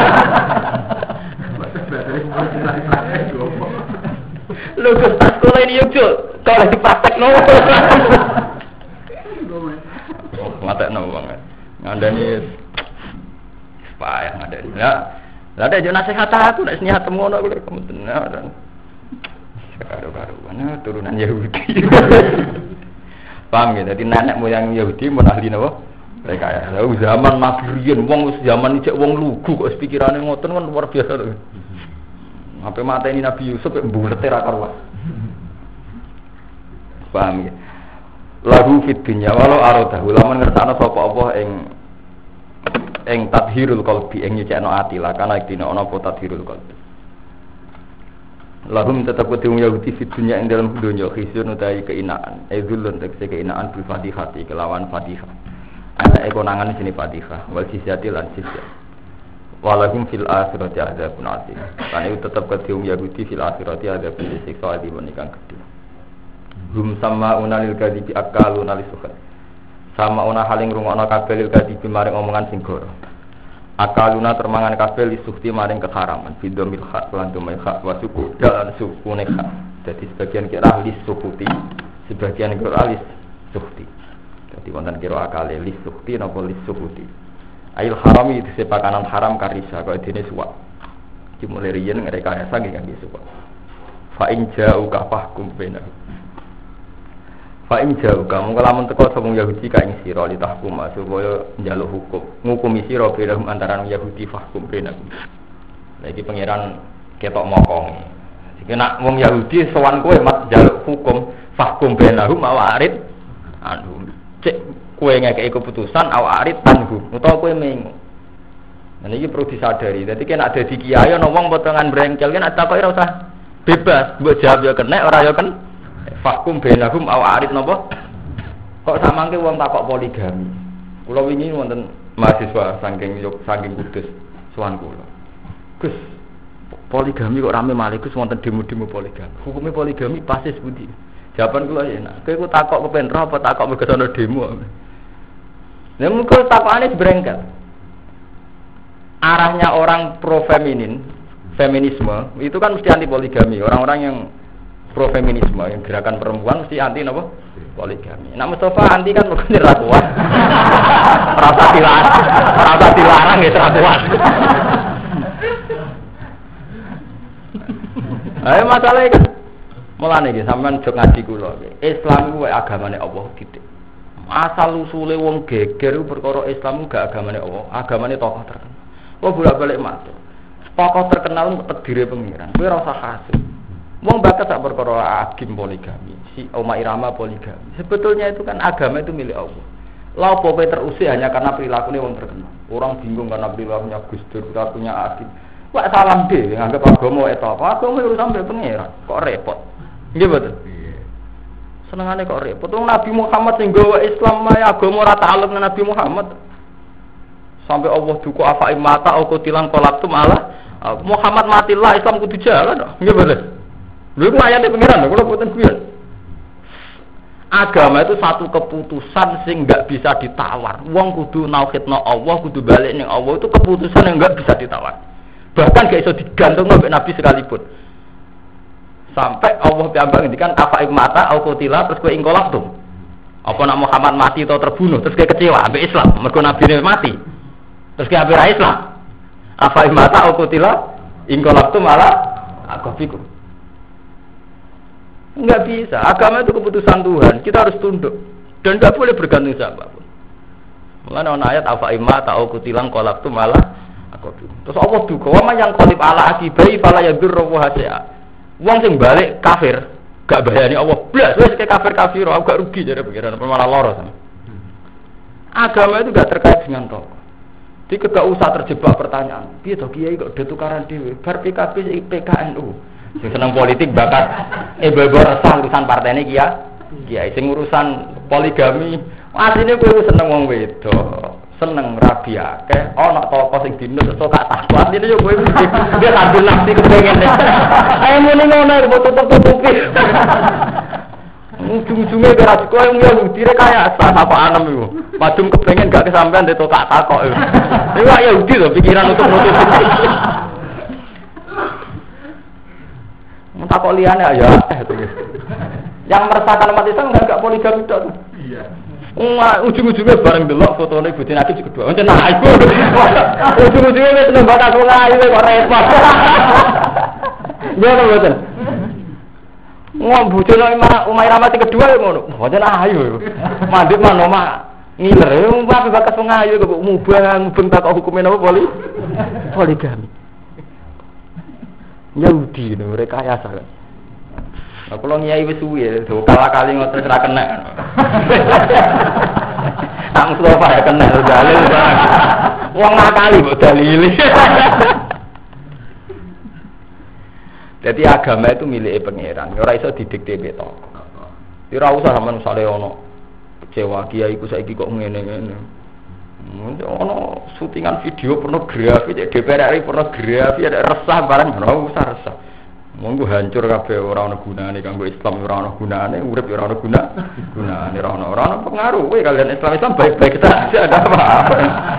Lu ke sekolah ini yuk kalau dipraktek no. Mata no banget. Ngandani payah ngandani. Ya. Lah ada yo nasihat aku nek niat ngono aku lek tenan. Karo-karoan turunan Yahudi. Paham ya? Dadi nenek moyang Yahudi mun ahli napa? Mereka ya. Lah zaman maghriyen wong wis zaman iki wong lugu kok pikirane ngoten kan luar biasa lho. Sampai mateni Nabi Yusuf mbulete ra karuan. Paham ya? Lahu fid dunya walau aradahu lamun ngertakno sapa apa ing ing tadhirul qalbi ing nyecekno ati lah kana dina ana apa tadhirul qalbi lahum tetep kudu Yahudi fi dunya ing dalam dunya khisyun utawi keinaan edzulun tegese keinaan bil fatihati kelawan fatihah ana konangan sini fatihah wal sisyati lan sisya walahum fil akhirati adzabun azim kan itu tetep kudu Yahudi fil akhirati adzabun siksa adi menikang gedhe hum sama unalil kadibi akalun alisuhat sama ona haling rungokno kabeh lil kadibi maring omongan sing goro akaluna termangan kabeh lisukti maring keharaman bidomil hak lan dumai hak wasuku dalan sukune hak dadi sebagian kira lis sukuti sebagian kira lis sukti dadi wonten kira akale lis sukti napa lis sukuti ail harami itu sepakanan haram karisa kaya dene suwak dimulai riyen ngreka esa nggih kangge suwak fa in ja'u ka fahkum bainahum fa in jauh kamu kalamun teko sapa Yahudi ka ing sira li tahkum supaya njaluk hukum ngukumi sira pirang antaraning Yahudi fahkum benahum. Lah iki pangeran ketok mokong. Iki nek wong Yahudi sowan kowe mat njaluk hukum fahkum benahum awarid anu cek kowe ngekeki keputusan awarid tanhu utawa kowe mengo. Nah iki perlu disadari. Dadi nek ada di kiai ana wong potongan brengkel kan takoki ora usah bebas, mbok jawab ya kena ora ya kan fakum bainahum aw arid napa kok samangke wong takok poligami kula wingi wonten mahasiswa saking saking Kudus sowan kula Gus poligami kok rame malih Gus wonten demo-demo poligami hukume poligami pasis pundi jawaban kula enak kowe kok takok kepen ro apa takok mergo ana demo lha mengko takokane brengkel arahnya orang pro feminin feminisme itu kan mesti anti poligami orang-orang yang pro feminisme yang gerakan perempuan mesti anti napa poligami. Nek Mustafa anti kan mesti ra kuat. Rasa dilarang, rasa dilarang ya ra kuat. Ayo masalah iki. Mulane iki sampean jog ngaji kula. Islam kuwi agamane Allah titik. Asal usule wong geger perkara Islam gak agamane Allah, agamane tokoh terkenal. Kok bolak-balik matur. Tokoh terkenal takdire pengiran. Kowe ora usah hasud. Wong bakat tak perkara agim poligami, si Oma Irama poligami. Sebetulnya itu kan agama itu milik Allah. Lah apa kowe terusir hanya karena perilakunya wong terkenal. Orang bingung karena perilakunya Gus Dur, perilakunya Agim. Wah salam dhewe nganggep agama itu apa? Agama urusan mbek pangeran. Kok repot. Nggih mboten? Iya. Senengane kok repot. Wong Nabi Muhammad sing gawa Islam maya agama ora ta'alluq dengan Nabi Muhammad. Sampai Allah duka afa imata au qutilan qalabtum ala Muhammad matilah Islam kudu jalan. Nggih mboten? Lha iku ayate pengiran lho, kula boten guyon. Agama itu satu keputusan sing enggak bisa ditawar. Wong kudu nauhidna Allah, kudu balik ning Allah itu keputusan yang enggak bisa ditawar. Bahkan gak iso digantung sampai Nabi sekalipun. Sampai Allah piyambak ngendikan afa mata au qutila terus kowe ingkolak tuh. Apa nak Muhammad mati atau terbunuh terus kowe kecewa ambek Islam, mergo nabine mati. Terus kowe ambek Islam. Afa mata au qutila ingkolak tuh malah akafikum. Enggak bisa, agama itu keputusan Tuhan, kita harus tunduk dan enggak boleh bergantung siapapun. Mulane ana ayat afa imma ta'u kutilang qalaqtu malah Aku terus apa duka wa yang qalib ala akibai fala yadurru hasia. Wong sing balik kafir, gak bayani Allah blas wis ke kafir-kafir, aku gak rugi jare pikiran malah lara sama. Agama itu gak terkait dengan tokoh. Jadi gak usah terjebak pertanyaan. Piye to kiai kok do tukaran dhewe? Bar P K B P K N U. Sing seneng politik bakat eh bebo resah urusan partene kiai. Kiai sing urusan poligami, asline kowe seneng wong wedok. Seneng rabi akeh ana toko sing dinus iso gak takwa ini yo kowe dia sambil nafsi kepengin ayo muni ngono kok tutup-tutupi ujung-ujunge ora kowe Yahudi rek kaya apa anem iku padum kepengin gak kesampean de tokak takok iku ya Yahudi lho pikiran untuk nutupi takok liyane ayo yang meresahkan umat Islam enggak poligami tok iya. Wah, ujung-ujungnya bareng delok fotone bojone Nabi kedua. Encen nah iku. Ujung-ujungnya wis nembak aku ngayu kok repot. Ngono mboten. Wong bojone Umairah mati kedua ya ngono. Mboten ayu. Mandhut manoma ngiler. Wong apa bakas ngayu kok mubang mubeng tak hukume napa poli? Poligami. Yahudi no rekayasa. Aku lo nyai wis suwi ya, kala kali ngoten ora kena. Nak Mustafa ya kena dalil barang. Wong nakali mbok dalili. Jadi agama itu milik pangeran, ora iso didikte beto. Ora usah sampean misale ono kecewa kiai iku saiki kok ngene-ngene. Ono syutingan video pornografi, D P R R I pornografi ada resah barang ora usah resah. Monggo hancur kabeh ora ana gunane kanggo Islam ora ana gunane urip ora ana guna gunane ora ana ora ana pengaruh kowe kalian Islam Islam baik-baik saja ada apa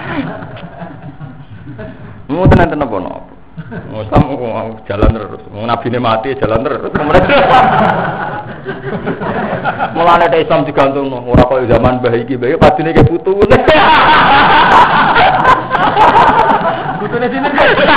mau tenan apa no Islam jalan terus nabine mati jalan terus mulane ada Islam digantung ora kaya zaman mbah iki mbah padine ke putu putune sini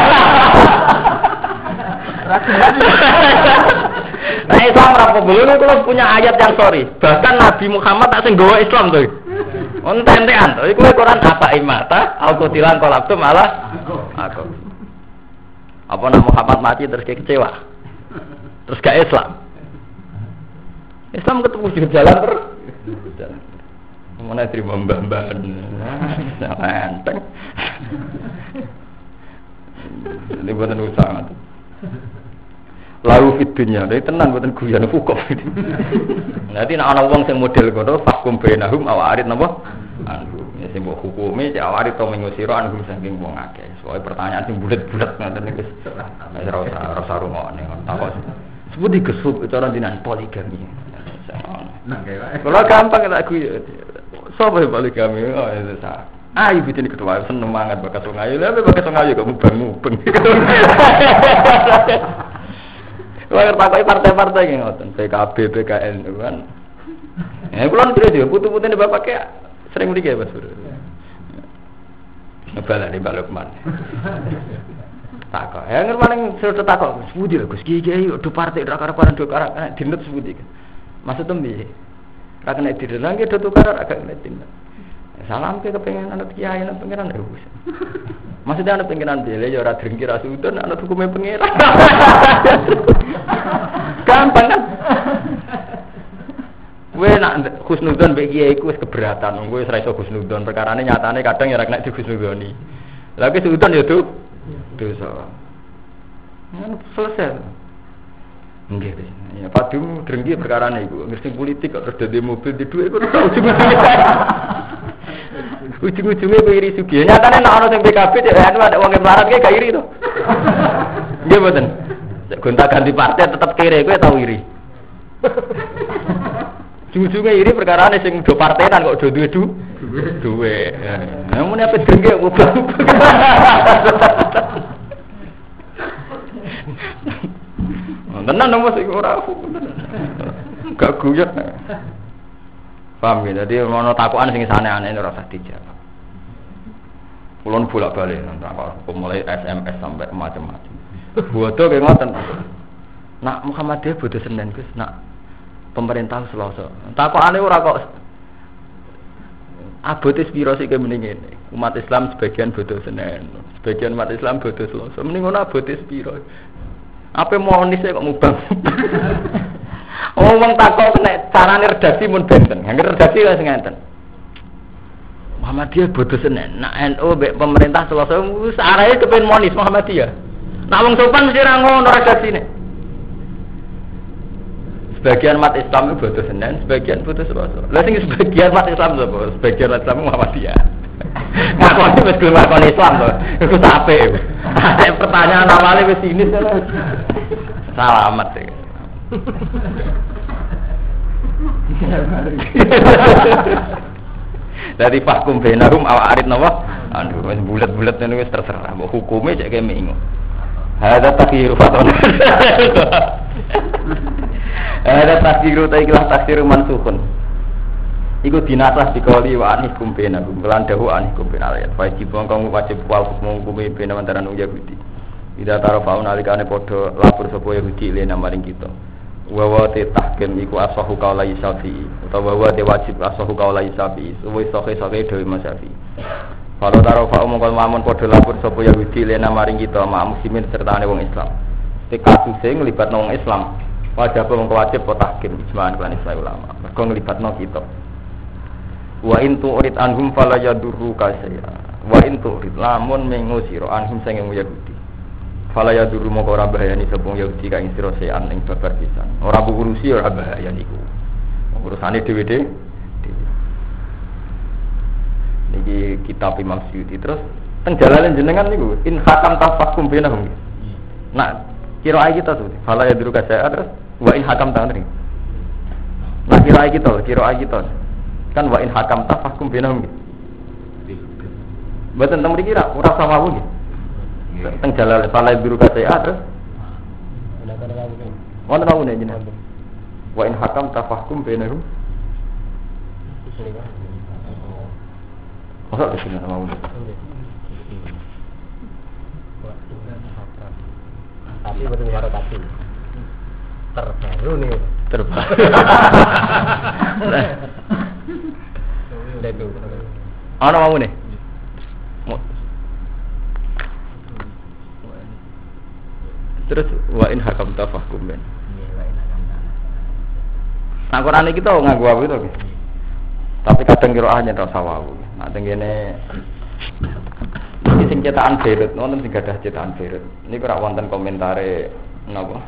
nah Islam rapo belum kalau punya ayat yang sorry bahkan Nabi Muhammad tak sing gawa Islam tuh onten-entean tuh iku Quran apa imata aku tilang kolab tuh malah aku apa nak Muhammad mati terus kayak kecewa terus gak Islam Islam ketemu di jalan terus mana terima mbak-mbak enteng ini buatan usaha lalu fitunya, dari tenan buatan guyon fukuf. Nanti nak ana wong sing model ngono, fakum bainahum awarid napa? Anhum. Ya sing mbok hukumi cek awarid to mengusira anhum saking wong akeh. Soale pertanyaan sing bulet-bulet ngoten niku wis ora usah ora usah rungokne. Takok sebut digesuk cara dinan poligami. Nah, kalau gampang tak guyon. Sopo poligami? Oh, itu sah. Ah, ibu ini ketua seneng banget bakat wong ayu. Lah bakat wong ayu kok mubeng-mubeng. Wah, takoki partai-partai ki ngoten, P K B, P K N kan. Eh, kula ndelok yo putu-putune bapak ki sering mriki ya, Mas Bro. Ngebala di Balukman. Takok. Ya ngermaning sudah takok, sepundi lho Gus Kiai do partai ra karep-karep do karep dinut sepundi. Maksud tembi. Ra kena didelang ki do tukar agak kena dinut. Salam ke kepengen anak kiai anak pengiran ya Gus. Maksudnya anak pengiran bele ya ora drengki ra sudun anak hukume pengiran. Gampang kan? Kowe nak husnudzon mbek kiai iku wis keberatan. Kowe wis ra iso husnudzon, perkarane nyatane kadang ya ra kena dihusnudzoni. Lah ki sudun ya tuh dosa. Kan selesai. Nggih, ya padum drengki perkarane iku. Ngerti politik kok terus dadi mobil di dhuwit kok ujung-ujungnya. Ujung-ujungnya kowe iri sugih. Nyatane nek ana sing P K B anu ada wong melarat ki gak iri to. Nggih mboten. Gonta-ganti partai tetep kere kowe tau iri. Ujung-ujungnya iri perkarane sing do partenan kok do duwe du duwe. Nah, mun apa drengki kok ubah. Tenan nomor sing ora gak guyot. Paham ya, jadi mau takuan sing aneh-aneh ora usah dijawab. Kulon bolak-balik takok mulai S M S sampai macam-macam. Bodoh kayak ngoten. Nak Muhammadiyah bodoh Senin Gus, nak pemerintah Selasa. Takokane ora kok abote piro sik mending ngene. Umat Islam sebagian bodoh Senin, sebagian umat Islam bodoh Selasa. Mending ngono abote piro. Apa monis kok mubang. Oh wong takok nek carane redaksi mun benten. Angger redaksi wis ngenten. Muhammadiyah bodoh Senin. Nak N U mbek pemerintah Selasa wis arahe kepen monis Muhammadiyah. Nak wong sopan mesti ra ngono redaksine. Sebagian umat Islam itu bodoh Senin, sebagian bodoh Selasa. Lah sing sebagian umat Islam sapa? Sebagian umat Islam Muhammadiyah. Ngakoni wis gelem ngakoni Islam to. Iku sape. Ada pertanyaan awale wis sinis to. Selamat ya. Dari fakum bainahum aw arid napa? Aduh wis bulet-bulet niku wis terserah. Mbok hukume cek kene ingo. Hada takdir fatona. Ada takdiru ta ikhlas takdiru mansukun. Iku dinasah dikali wa anikum bainahum kelandahu anikum bainal ayat. Wajib kang wajib wal hukum hukume baina antarané Yahudi. Ida tarofaun alikane padha lapor sapa Yahudi lena maring kita. Wa wa te tahkim iku asahu kaula Syafi'i utawa wa te wajib asahu kaula Syafi'i. Suwe soke-soke dhewe Mas Syafi'i. Kalau tarofa mongkon mamun padha lapor sapa Yahudi lena maring kita ma muslimin sertane wong Islam. Te kasuse nglibatno wong Islam. Wajib mongko wajib potahkim ijma'an lan Islam ulama. Mergo nglibatno kita. Wa in tu'rid anhum fala yadurruka syai'a. Wa in tu'rid lamun mengusira anhum sing Yahudi. Fala yadurru mongko ora bahayani sapa Yahudi ka ing sira sean ing babar pisan. Ora burusi ora bahaya niku. Urusane dhewe-dhewe. Niki kitab Imam Suyuti terus teng jalalen jenengan niku in hakam tafakum bainahum. Nak kira ae kita tuh. Fala yadurruka syai'a terus wa in hakam tangan. Nah kira ae kita, kira ae kita. Kan wa in hakam tafakum bainahum. Mboten teng mriki ra ora sawawu nggih. Teng jalal salai biru kata ya terus. Wonten wau nek jenengan. Wa in hakam tafahkum bainahum. Masa di sini mau. Tapi betul karo tapi. Terbaru nih, terbaru. Udah itu. Ana mau nih. Terus wa in hakam tafahkum ben. Nah Quran iki to nganggo apa to? Tapi kadang qiraahnya ra sawawu. Nah tengene iki sing cetakan Beirut, wonten sing gadah cetakan Beirut. Niku ora wonten komentare napa?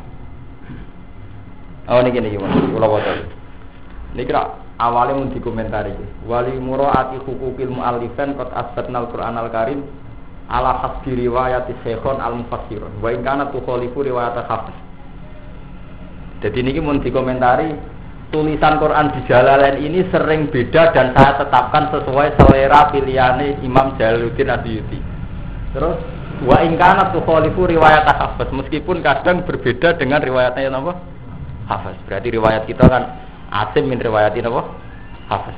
Oh niki niki wonten kula waca. Niki ra awale mun dikomentari iki. Wali muraati hukukil muallifan qad asbatnal Qur'anal Karim ala hasbi riwayat Syekhon al-Mufassirun wa in kana tukhalifu riwayat Hafiz. Jadi niki mun dikomentari tulisan Quran di Jalalain ini sering beda dan saya tetapkan sesuai selera pilihane Imam Jalaluddin Asyuyuti. Terus wa in kana tukhalifu riwayat Hafiz meskipun kadang berbeda dengan riwayatnya napa? Hafiz. Berarti riwayat kita kan asim min riwayatin apa? Hafiz.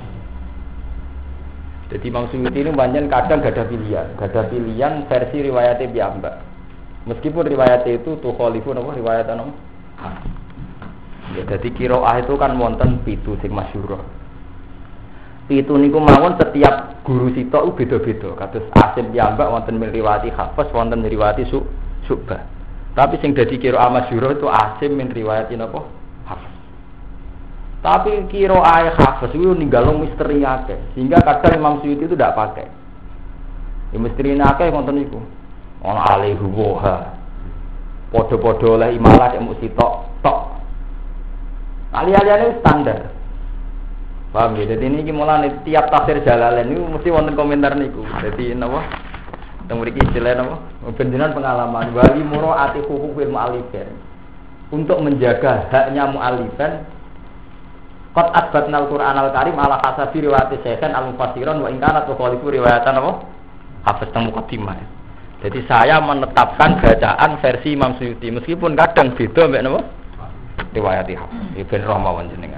Jadi Imam Suyuti ini banyak kadang gak ada pilihan, gak ada pilihan versi riwayatnya piyambak. Meskipun riwayatnya itu tuh khalifun apa riwayatnya apa? Ya, jadi kiroah itu kan wonten pitu sing masyhur. Pitu niku mawon setiap guru sita u beda-beda. Kados Asim piyambak wonten riwayati Hafiz, wonten riwayati Su Subah. Tapi sing dadi kiroah masyhur itu Asim min riwayatin apa? Hafiz. Tapi kiro ayat Hafiz itu ninggalung misteri akeh, sehingga kadang Imam Suyuti itu tidak pakai. Ya misteri akeh ngoten niku. Ana alaihi woha. Podo-podo oleh imalah cek mesti tok tok. Ali-aliane standar. Paham ya? Jadi ini mulane tiap tafsir Jalalain niku mesti wonten komentar niku. Dadi napa? Teng mriki istilah napa? Benjenan pengalaman wali muraati hukukil mu'allifin. Untuk menjaga haknya mu'allifan qad asbatnal Qur'anal Karim ala hasabi riwayat Syekhon al-Mufassirun wa in kana tukhalifu riwayatan apa? Hafiz teng muqaddimah. Jadi saya menetapkan bacaan versi Imam Suyuti meskipun kadang beda mbek napa? Riwayat Hafiz. Ibn Rahmawan jenengan.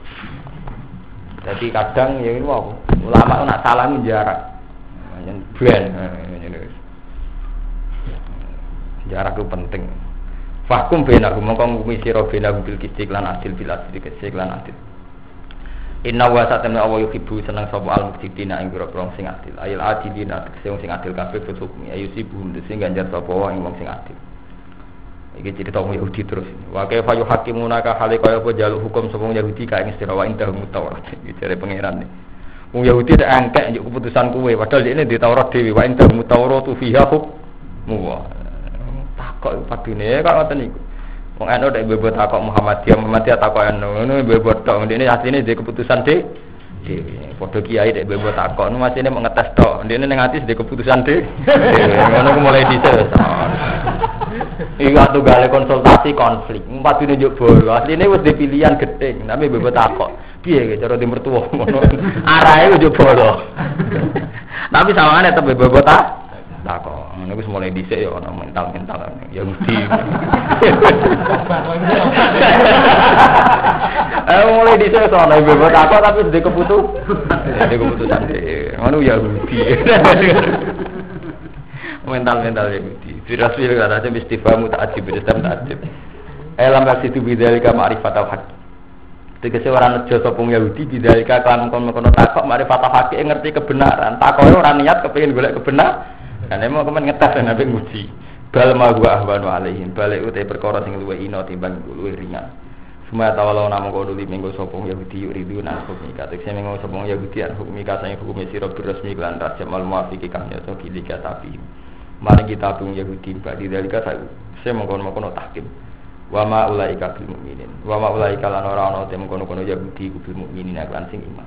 Jadi kadang ya ini wae ulama nak salah jarak. Yen ben ngene. Jarak itu penting. Fahkum bainahum mongko ngumi sira bainahum bil qistik lan adil bil adil qistik lan adil. Inna wa satamna Allah yuhibbu seneng sapa al-muqsitina ing pira-pira sing adil. Ayil adilina sing sing adil kabeh hukmi ayu sibum sing ganjar sapa wong wong sing adil. Iki cerita wong Yahudi terus. Wa kaifa yuhaqimuna ka hale kaya apa jaluk hukum sapa Yahudi ka ing istirawa indah Taurat. Iki jare pangeran. Wong Yahudi nek angkek njuk keputusan kuwe padahal dene di Taurat dhewe wa indah Tauratu fiha hukmu. Takok padune kok ngoten niku. Wong anu nek bebot takok Muhammadiyah, Muhammadiyah takok anu, ngono bebot tok. Ndene asline dhe keputusan dhe. Dhewe. Padha kiai nek bebot takok, nu asline mau ngetes tok. Ndene ning ati dhe keputusan dhe. Ngono ku mulai dhisik. Iku atuh gale konsultasi konflik. Padune njuk bolo. Asline wis dipilihan gething, tapi bebot takok. Piye ge cara di mertua ngono. Arahe njuk bolo. Tapi sawangane tetep bebot takok. Takok. Ngono wis mulai dhisik ya ana mental-mental Yahudi. Eh mulai dhisik ana bebot takok tapi ndek keputus. Ndek keputusan dhewe. Ngono Yahudi. Mental-mental Yahudi. Firasil kata aja istifamu ta'ajib bidam ta'ajib. Elam situ bidzalika ma'rifat al-haq. Tegese ora nejo sapa Yahudi bidzalika kan kono-kono takok ma'rifat al-haq ngerti kebenaran. Takoke ora niat kepengin golek kebenaran. Kan emang kemen ngetes nabi nguji. Bal ma wa ahwanu alaihim. Balik utai perkara sing luwih ina timbang luwih ringan. Semua tawalau namung kono li minggu sapa Yahudi yuridu na hukum ika. Tekse minggu sapa Yahudi an hukum ika sing hukum sira resmi lan rajamal muafiqi kang nyoto kilika tapi. Mari kita tung Yahudi badi dalika saya mengkono-kono tahkim. Wa ma ulaika bil mukminin. Wa ma ulaika lan ora ana tem kono-kono Yahudi ku bil mukminin lan sing iman.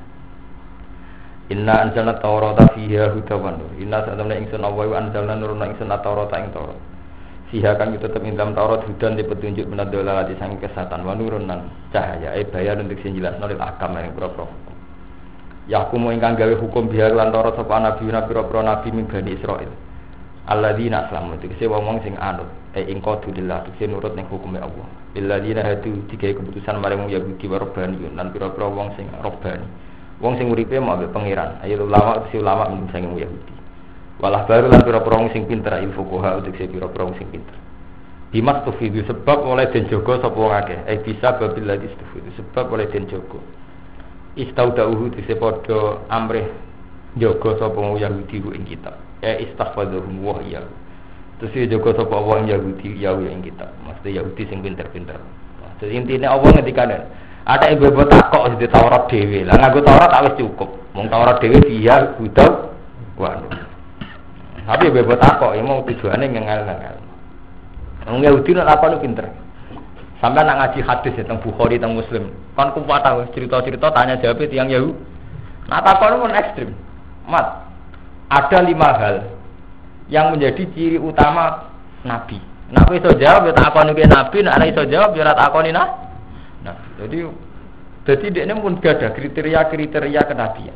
Inna anzalna Taurata fiha hudan wa nur. Inna satamna ingsun Allah wa anzalna nurna ingsun Taurata ing Taurat. Fiha kan tetep ing dalam Taurat hudan di petunjuk menadala di sang kesatan wa nurun nan cahaya e bayan untuk sing jelasno lil akam ing pro-pro. Yakumu ingkang gawe hukum biha lan Taurat sapa nabi nabi-pro nabi min Bani Israil. Alladzina aslamu tegese wong sing anut e ing qadulillah tegese nurut ning hukume Allah. Illadzina hadu digawe keputusan marang Yahudi wa Rabbani lan pira-pira wong sing Rabbani. Wong sing uripe mau ambek pangeran. Ayo ulama si ulama sing Yahudi. Walah baru lan pira-pira wong sing pinter ilmu fuqaha tegese pira-pira wong sing pinter. Bimas tufidu sebab oleh den jaga sapa wong akeh. Eh bisa babil ladhi tufidu sebab oleh den jaga. Istaudauhu tegese padha amrih jaga sapa wong Yahudi ku ing kitab. Eh istaghfadhum wa ya. Terus dia jaga sapa wong Yahudi ya ing kitab. Maksud Yahudi sing pinter-pinter. Maksud intine Allah ngendikane ada ibu ibu takok di Taurat dewi. Lah nganggo Taurat wis cukup. Mung Taurat dewi dia udah wa. Tapi ibu ibu takok ya mau tujuane ngengal-ngengal. Wong Yahudi nek apa lu pinter. Sampai nak ngaji hadis tentang Bukhari tentang Muslim. Kan kumpul tahu cerita-cerita tanya jawab tiyang Yahudi. Nah takon pun ekstrim. Mat. Ada lima hal yang menjadi ciri utama Nabi. Nak iso jawab ya takoni ke Nabi, nak ora iso jawab ya ora takoni nah. Nah, jadi jadi dia pun gak ada kriteria-kriteria kenabian.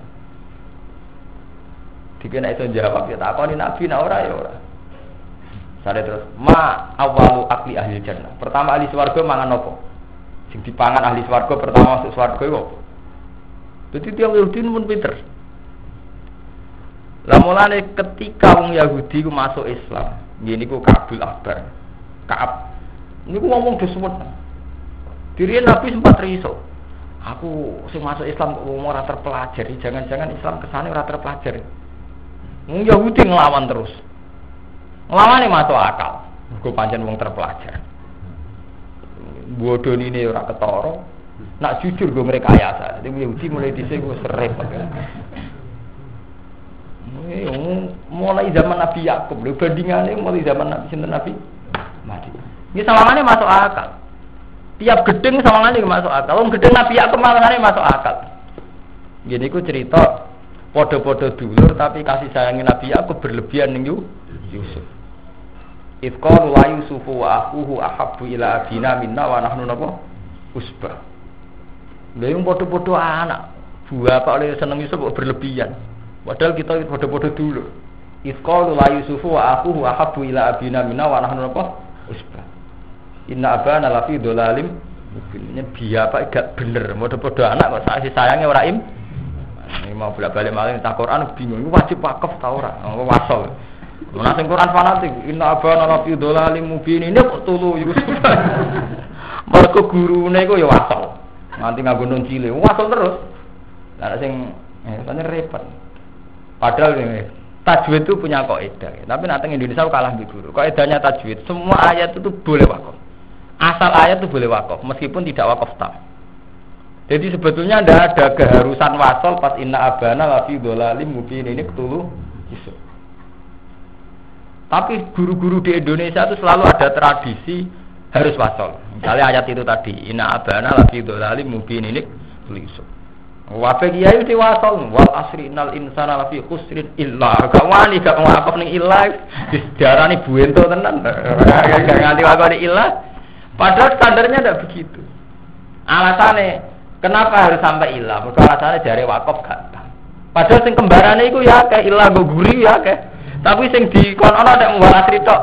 Jika nak iso jawab ya takoni Nabi nak ora ya ora. Sare terus ma awalu akli ahli jannah. Pertama ahli swarga mangan apa? Sing dipangan ahli swarga pertama masuk swarga iku apa? Jadi dia Yahudi pun pinter. Lah mulane ketika wong Yahudi ku masuk Islam, ngene ku Kabul Akbar. Kaab. Niku ngomong dhewe. Diri Nabi sempat riso. Aku sing masuk Islam kok ora terpelajari, jangan-jangan Islam kesane ora terpelajari. Wong Yahudi nglawan terus. Nglawane masuk akal. Mergo pancen wong terpelajar. Bodonine ora ketara. Nak jujur go ngrekayasa. Dadi Yahudi mulai dhisik wis repot. Mulai zaman Nabi Yakub, lho bandingannya mulai zaman Nabi sinten Nabi Mati. Ini sawangane masuk akal. Tiap gedeng sawangane masuk akal. Wong gedeng Nabi Yakub sawangane masuk akal. Gini ku cerita podo-podo dulur tapi kasih sayangnya Nabi Yakub berlebihan ning Yusuf. Ifqalu la Yusufu wa akhuhu ahabbu ila abina minna wa nahnu napa usbah. Lha yang podo-podo anak, buah apa oleh seneng Yusuf kok berlebihan. Padahal kita podo-podo dulu. Ifqalu la Yusufu wa akhuhu ahabbu ila abina minna wa nahnu napa usbah. Inna abana lafi dolalim. Ini biya apa gak bener. Podo-podo anak kok kasih sayangnya ora im. Ini mau bolak-balik malah tak Quran bingung. Ini wajib wakaf ta ora? Oh wasol. Ana sing Quran fanatik. Inna abana lafi dolalim mubin. Ini kok tulu Yusuf. Mergo gurune iku ya wasol. Nanti nganggo nun cilik. Wasol terus. Lah sing eh pancen repot. Padahal ini tajwid itu punya kaidah, tapi nanti Indonesia kalah di guru. Kaidahnya tajwid, semua ayat itu boleh wakaf. Asal ayat itu boleh wakaf, meskipun tidak wakaf tam. Jadi sebetulnya tidak ada keharusan wasol pas inna abana lafi dolalim mubin ini ketulu isu. Tapi guru-guru di Indonesia itu selalu ada tradisi harus wasol. Misalnya ayat itu tadi, inna abana lafi dolalim mubin ini ketulu isu. Wafe kiai diwasol wal asri innal insana lafi khusrin illa gak wani gak ngakon ning illa dijarani buento tenan gak nganti wakone illa padahal standarnya ndak begitu. Alasannya kenapa harus sampai illa? Mergo alasannya jare wakaf gak tam. Padahal sing kembarane iku ya akeh illa go guri ya akeh. Tapi sing dikon ana nek wal asri tok.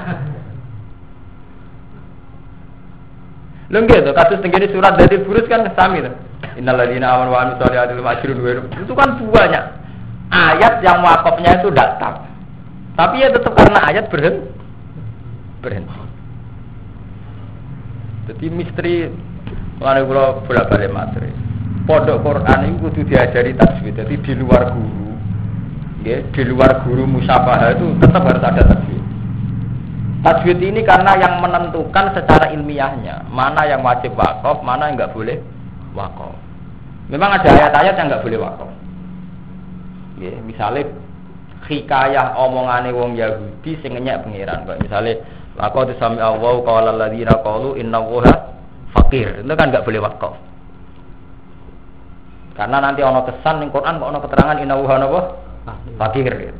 Lho nggih to kados tengene surat dari burus kan sami to. Innal ladzina amanu wa amilus solihati ajrun wa itu kan banyak ayat yang wakafnya itu datang. Tapi ya tetap karena ayat berhenti. Berhenti. Jadi misteri lane kula bolak-balik materi. Pondok Quran itu kudu diajari tajwid. Jadi di luar guru, nggih, di luar guru musyafahah itu tetap harus ada tajwid. Tajwid ini karena yang menentukan secara ilmiahnya mana yang wajib wakaf, mana yang enggak boleh wakaf. Memang ada ayat-ayat yang enggak boleh wakaf. Ya, misalnya hikayah omongane wong Yahudi sing ngenyek pangeran. Kayak misalnya laqad sami Allahu qala alladziina qalu innallaha faqir. Itu kan enggak boleh wakaf. Karena nanti ana kesan ning Quran kok ana keterangan innallaha napa? Faqir. Gitu.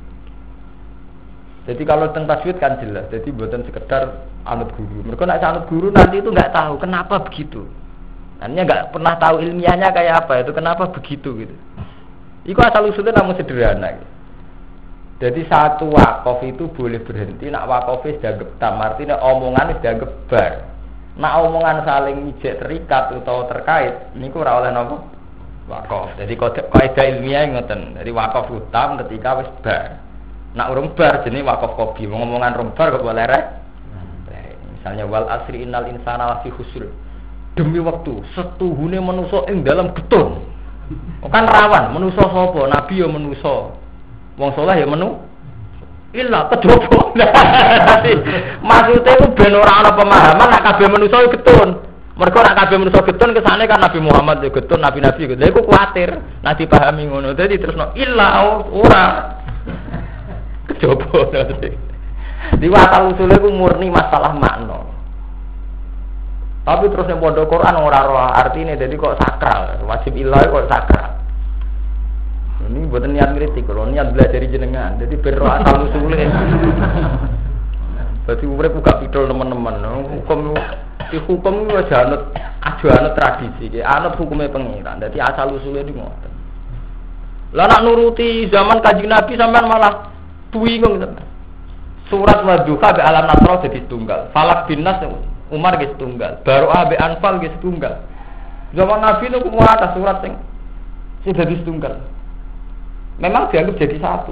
Jadi kalau tentang tajwid kan jelas. Jadi bukan sekedar anut guru. Mereka nak anut guru nanti itu enggak tahu kenapa begitu. Artinya nggak pernah tahu ilmiahnya kayak apa itu kenapa begitu gitu. Iku asal usulnya namun sederhana. Gitu. Jadi satu wakaf itu boleh berhenti. Nak wakafnya sudah tam, artinya omongan sudah gebar. Nak omongan saling ijek terikat atau terkait, ini kurang oleh nopo wakaf. Jadi kaidah ilmiah ngoten. Jadi wakaf utam ketika wis bar. Nak urung bar jenis wakaf kopi. Ngomongan rung bar kok boleh rek. Misalnya wal asri innal insana lafi khusr. Demi waktu setuhune manusa ing dalam getun. Kan rawan manusa sapa? Nabi ya manusa. Wong saleh ya menu. Illa kejopo. Maksude ku ben ora ana pemahaman nek kabeh manusa getun. Mergo nek kabeh manusa getun kesane kan Nabi Muhammad ya getun, nabi-nabi gitu. Lha iku kuwatir nek dipahami ngono. Dadi terusno illa ora. Kejopo. Di asal usule ku murni masalah makna. Tapi terus yang pondok Quran ora roh artine jadi kok sakral, wajib ilah kok sakral. Ini buatan niat kritik, kalau niat belajar jenengan, jadi berroh asal usulnya. Berarti urip buka pidol teman-teman, hukum di hukum itu aja anut, aja anut tradisi, anut hukumnya pengiran. Jadi asal usulnya di ngoten. Lah nak nuruti zaman Kanjeng Nabi sampean malah bingung gitu. Surat Wadduha be alam nasro jadi tunggal, Falak bin Nas Umar ge setunggal, baru abe Anfal ge setunggal. Zaman Nabi itu kumua atas surat sing sudah setunggal. Memang dianggap jadi satu.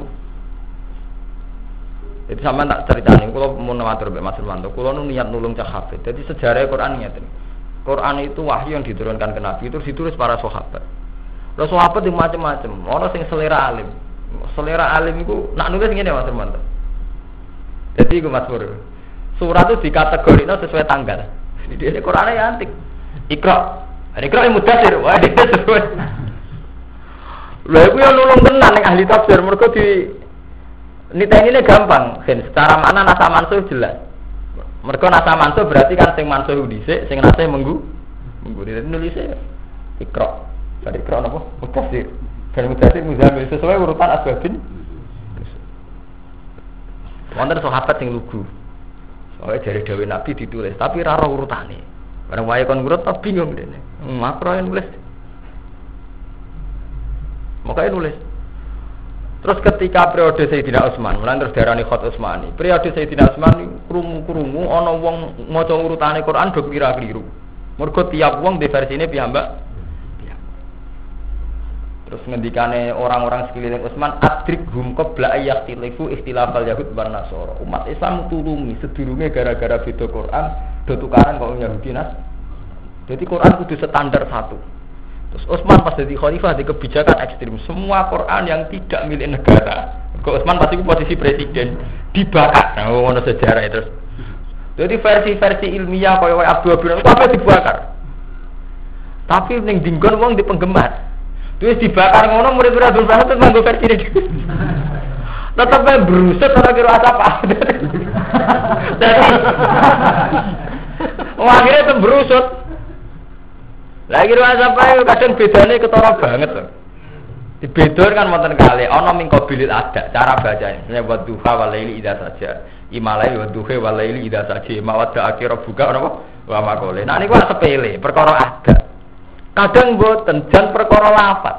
Jadi sama tak ceritanya, kalau mau namatur be Mas Irwanto, kalau nu niat nulung cah hafid. Jadi sejarah Quran niat ini. Quran itu wahyu yang diturunkan ke Nabi itu ditulis para sahabat. Terus sahabat itu macam-macam. Orang sing selera alim, selera alim itu nak nulis ngene Mas Irwanto. Jadi itu Mas Pur. Surat itu dikategorikan sesuai tanggal. Jadi ini Qurannya ya antik. Iqra. Iqra yang mudasir. Wah, dia sesuai. Lha iku yo nulung tenan ning ahli tafsir mergo di niteni gampang. Gen secara makna nasa mansuh jelas. Mergo nasa mansuh berarti kan sing mansuh dhisik, sing nasih menggu. Menggu dadi nulise Iqra. Dari Iqra napa? Mudasir. Ben mudasir muzamil sesuai urutan asbabin. Wonten sahabat sing lugu. Soalnya dari Dewi Nabi ditulis, tapi rara urutane. Barang wae kon ngurut tak bingung dene. Makro yang nulis. Makanya nulis. Terus ketika periode Sayyidina Utsman, mulai terus darani Khat Utsmani. Periode Sayyidina Utsman krungu-krungu ana wong maca urutane Quran do kira-kira. Mergo tiap wong di versine piyambak. Terus ngendikane orang-orang sekeliling Utsman adrik hum qabla ayyakhtilifu ikhtilafal yahud wan nasara. Umat Islam tulungi sedurunge gara-gara beda Quran do tukaran kok Yahudi nas. Jadi Quran kudu standar satu. Terus Utsman pas jadi khalifah di kebijakan ekstrim. Semua Quran yang tidak milik negara, kok Utsman pasti posisi presiden dibakar. Nah, ngono sejarah itu. Jadi versi-versi ilmiah kaya Abdul Habib itu apa dibakar. Tapi ning dinggon wong di penggemar. Terus dibakar ngono murid-murid Abdul Habib itu nganggo versi ini. Tetep berusut ora kira apa. Jadi wah akhirnya itu berusut. Lagi kira apa kadang bedane ketara banget loh. Di bedor kan wonten kali ana ming qabilil ada cara bacanya. Misalnya wa duha wa laili idza saja. Imalai wa duha wa laili idza saja. Mawadda akhir buka napa? Wa maqole. Nah niku sepele, perkara ada. Kadang mboten jan perkara lafaz.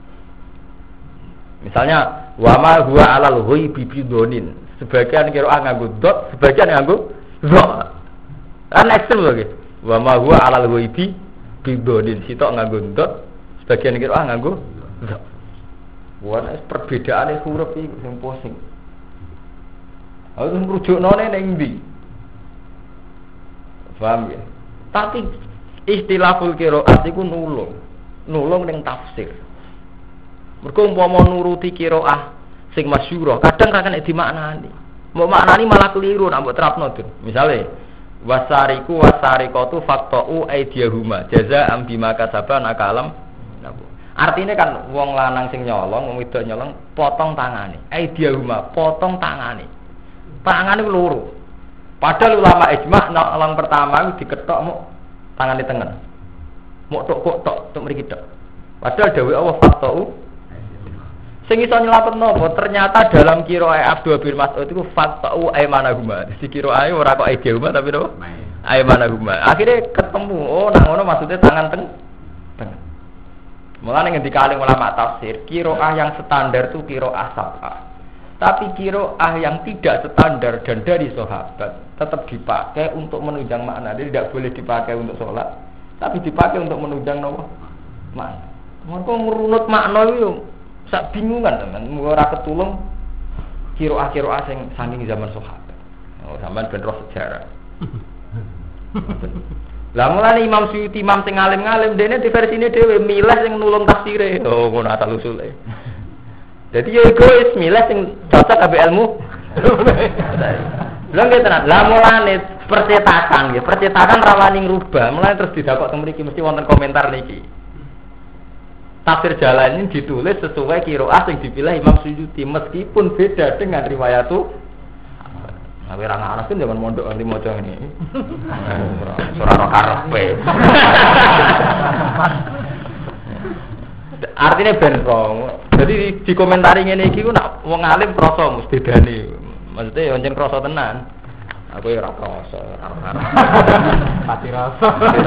Misalnya wa ma huwa alal ghaibi bidonin. Sebagian kira nganggo dot, sebagian nganggo dot. Kan ekstrem lho nggih. Wa ma huwa alal ghaibi bidonin. Sitok nganggo dot, sebagian kira nganggo dot. Wana perbedaane huruf iki sing pusing. Aku ngrujukno ning ndi? Paham ya? Tapi istilahul qiraat iku nulung. Nulung ning tafsir. Mergo umpama nuruti qiraah sing masyhur, kadang ra kena dimaknani. Mbok maknani malah keliru nek mbok terapno, Dur. Misale wasariku wasariqatu faqta'u aydiyahuma jazaa'an bima kasaban akalam. Artinya kan wong lanang sing nyolong, wong wedok nyolong potong tangane. Aydiyahuma potong tangane. Tangane loro. Padahal ulama ijma' nek pertama diketok muk tangane tengen. Muk tok kok tok tok mriki tok. Padahal dawuh Allah faqta'u sing iso nyelapetno apa ternyata dalam qiraah Abdul bin Mas'ud itu faqta'u aymanahuma. Dadi qiraah ora kok aydiyahuma tapi napa? Aymanahuma. Akhirnya ketemu. Oh, nak ngono maksudnya tangan teng tengen. Mulane ngendika alim ulama tafsir, qiraah yang standar itu qiraah sab'ah. Tapi qiraah yang tidak standar dan dari sahabat tetap dipakai untuk menunjang makna. Jadi tidak boleh dipakai untuk sholat, tapi dipakai untuk menunjang nopo makna. Mengko merunut makna itu sak bingungan teman, ora ketulung qiraah-qiraah sing saking zaman sahabat. Oh, sampean ben roh sejarah. Lah mulane Imam Suyuti Imam sing alim-alim dene di versine dhewe milih sing nulung tafsire. Oh, ngono asal usule. Dadi yo egois milih sing cocok ambek ilmu. Lha nggih tenan. Lah mulane percetakan nggih, percetakan rawani ngrubah. Mulane terus didakok teng mriki mesti wonten komentar niki. Tafsir Jalan ini ditulis sesuai qiraah sing dipilih Imam Suyuti meskipun beda dengan riwayat itu. Tapi orang anak kan jangan mondok nanti mojo ini. Surah karepe. Artinya benrong. Jadi di komentari ngene iki ku nak wong alim krasa mesti bedane. Maksudnya yo njen krasa tenan. Aku yo ora krasa, ora ora. Pati rasa.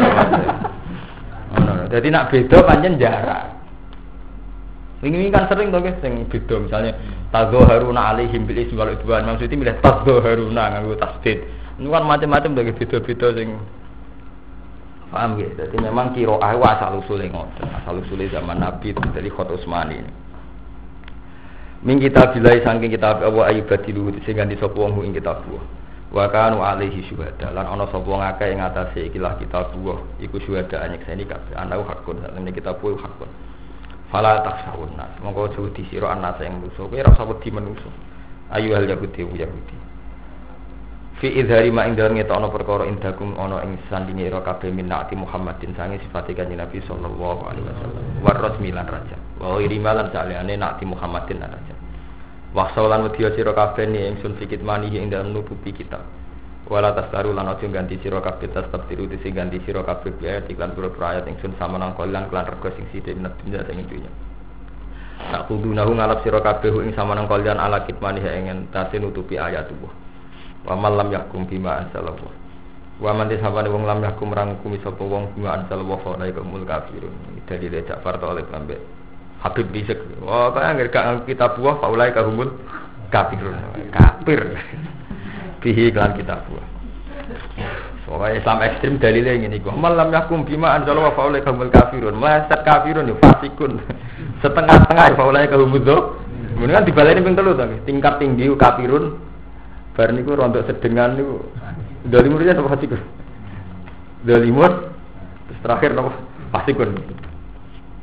Ono. Dadi nak beda pancen jarak. Ini kan sering tuh guys, yang beda misalnya tadzaharuna alaihim bil ismi wal udwan, maksudnya milih tadzaharuna nganggo tasdid. Ini kan macam-macam tuh beda-beda sing paham gitu. Jadi memang qiraah wa asal usule ngoten, asal usule zaman Nabi dari Khat Utsmani ini. Min kitab bilai saking kitab Abu Ayyub Badilu sing ganti sapa wong ing kitab buah. Wa kanu alaihi syuhada lan ana sapa wong akeh ing atase ikilah kitab buah iku syuhada nyekseni kabeh ana hakun sak temene kitab buah hakun. Fala takhshawun nas monggo aja disira anas yang musuh kowe ora usah wedi menungso ayu hal yahudi yahudi fi idhari ma ing dalem ngetokno perkara indakum ana ing sandinge ira kabeh minati Muhammadin sange sifate kanjeng Nabi sallallahu alaihi wasallam wa rasmilan raja wa irimalan salehane nati Muhammadin raja wa saulan wedi sira kabeh ni ingsun fikit mani ing dalem nutupi kitab wala tasaru lan aja ganti sira kabeh tetep tiru sing ganti sira kabeh ayat iklan pura ayat ingsun sama nang kolan kelan rego sing sithik nek dunya sing dunya tak kudunahu ngalap sira kabeh ing sama nang kolan ala kitmani ing tase nutupi ayat tubuh wa malam yakum bima ansalallahu wa man disabane wong lam yakum rangkumi sapa wong bima ansalallahu fa laika mul kafirun dari Ja'far oleh lambe Habib bisik oh kaya gak kitab buah fa laika humul kafirun kafir bihi iklan kitab buah. Soalnya Islam ekstrim dalilnya ini kok. Malam yakum bima anjalo wa faulai kaumul kafirun. Meleset kafirun ya fasikun. Setengah-setengah ya faulai kaumul do. Kemudian kan dibaleni ping telu to. Tingkat tinggi kafirun. Bar niku rontok sedengan niku. Dalimurnya apa fasikun? Dalimur terus terakhir apa fasikun.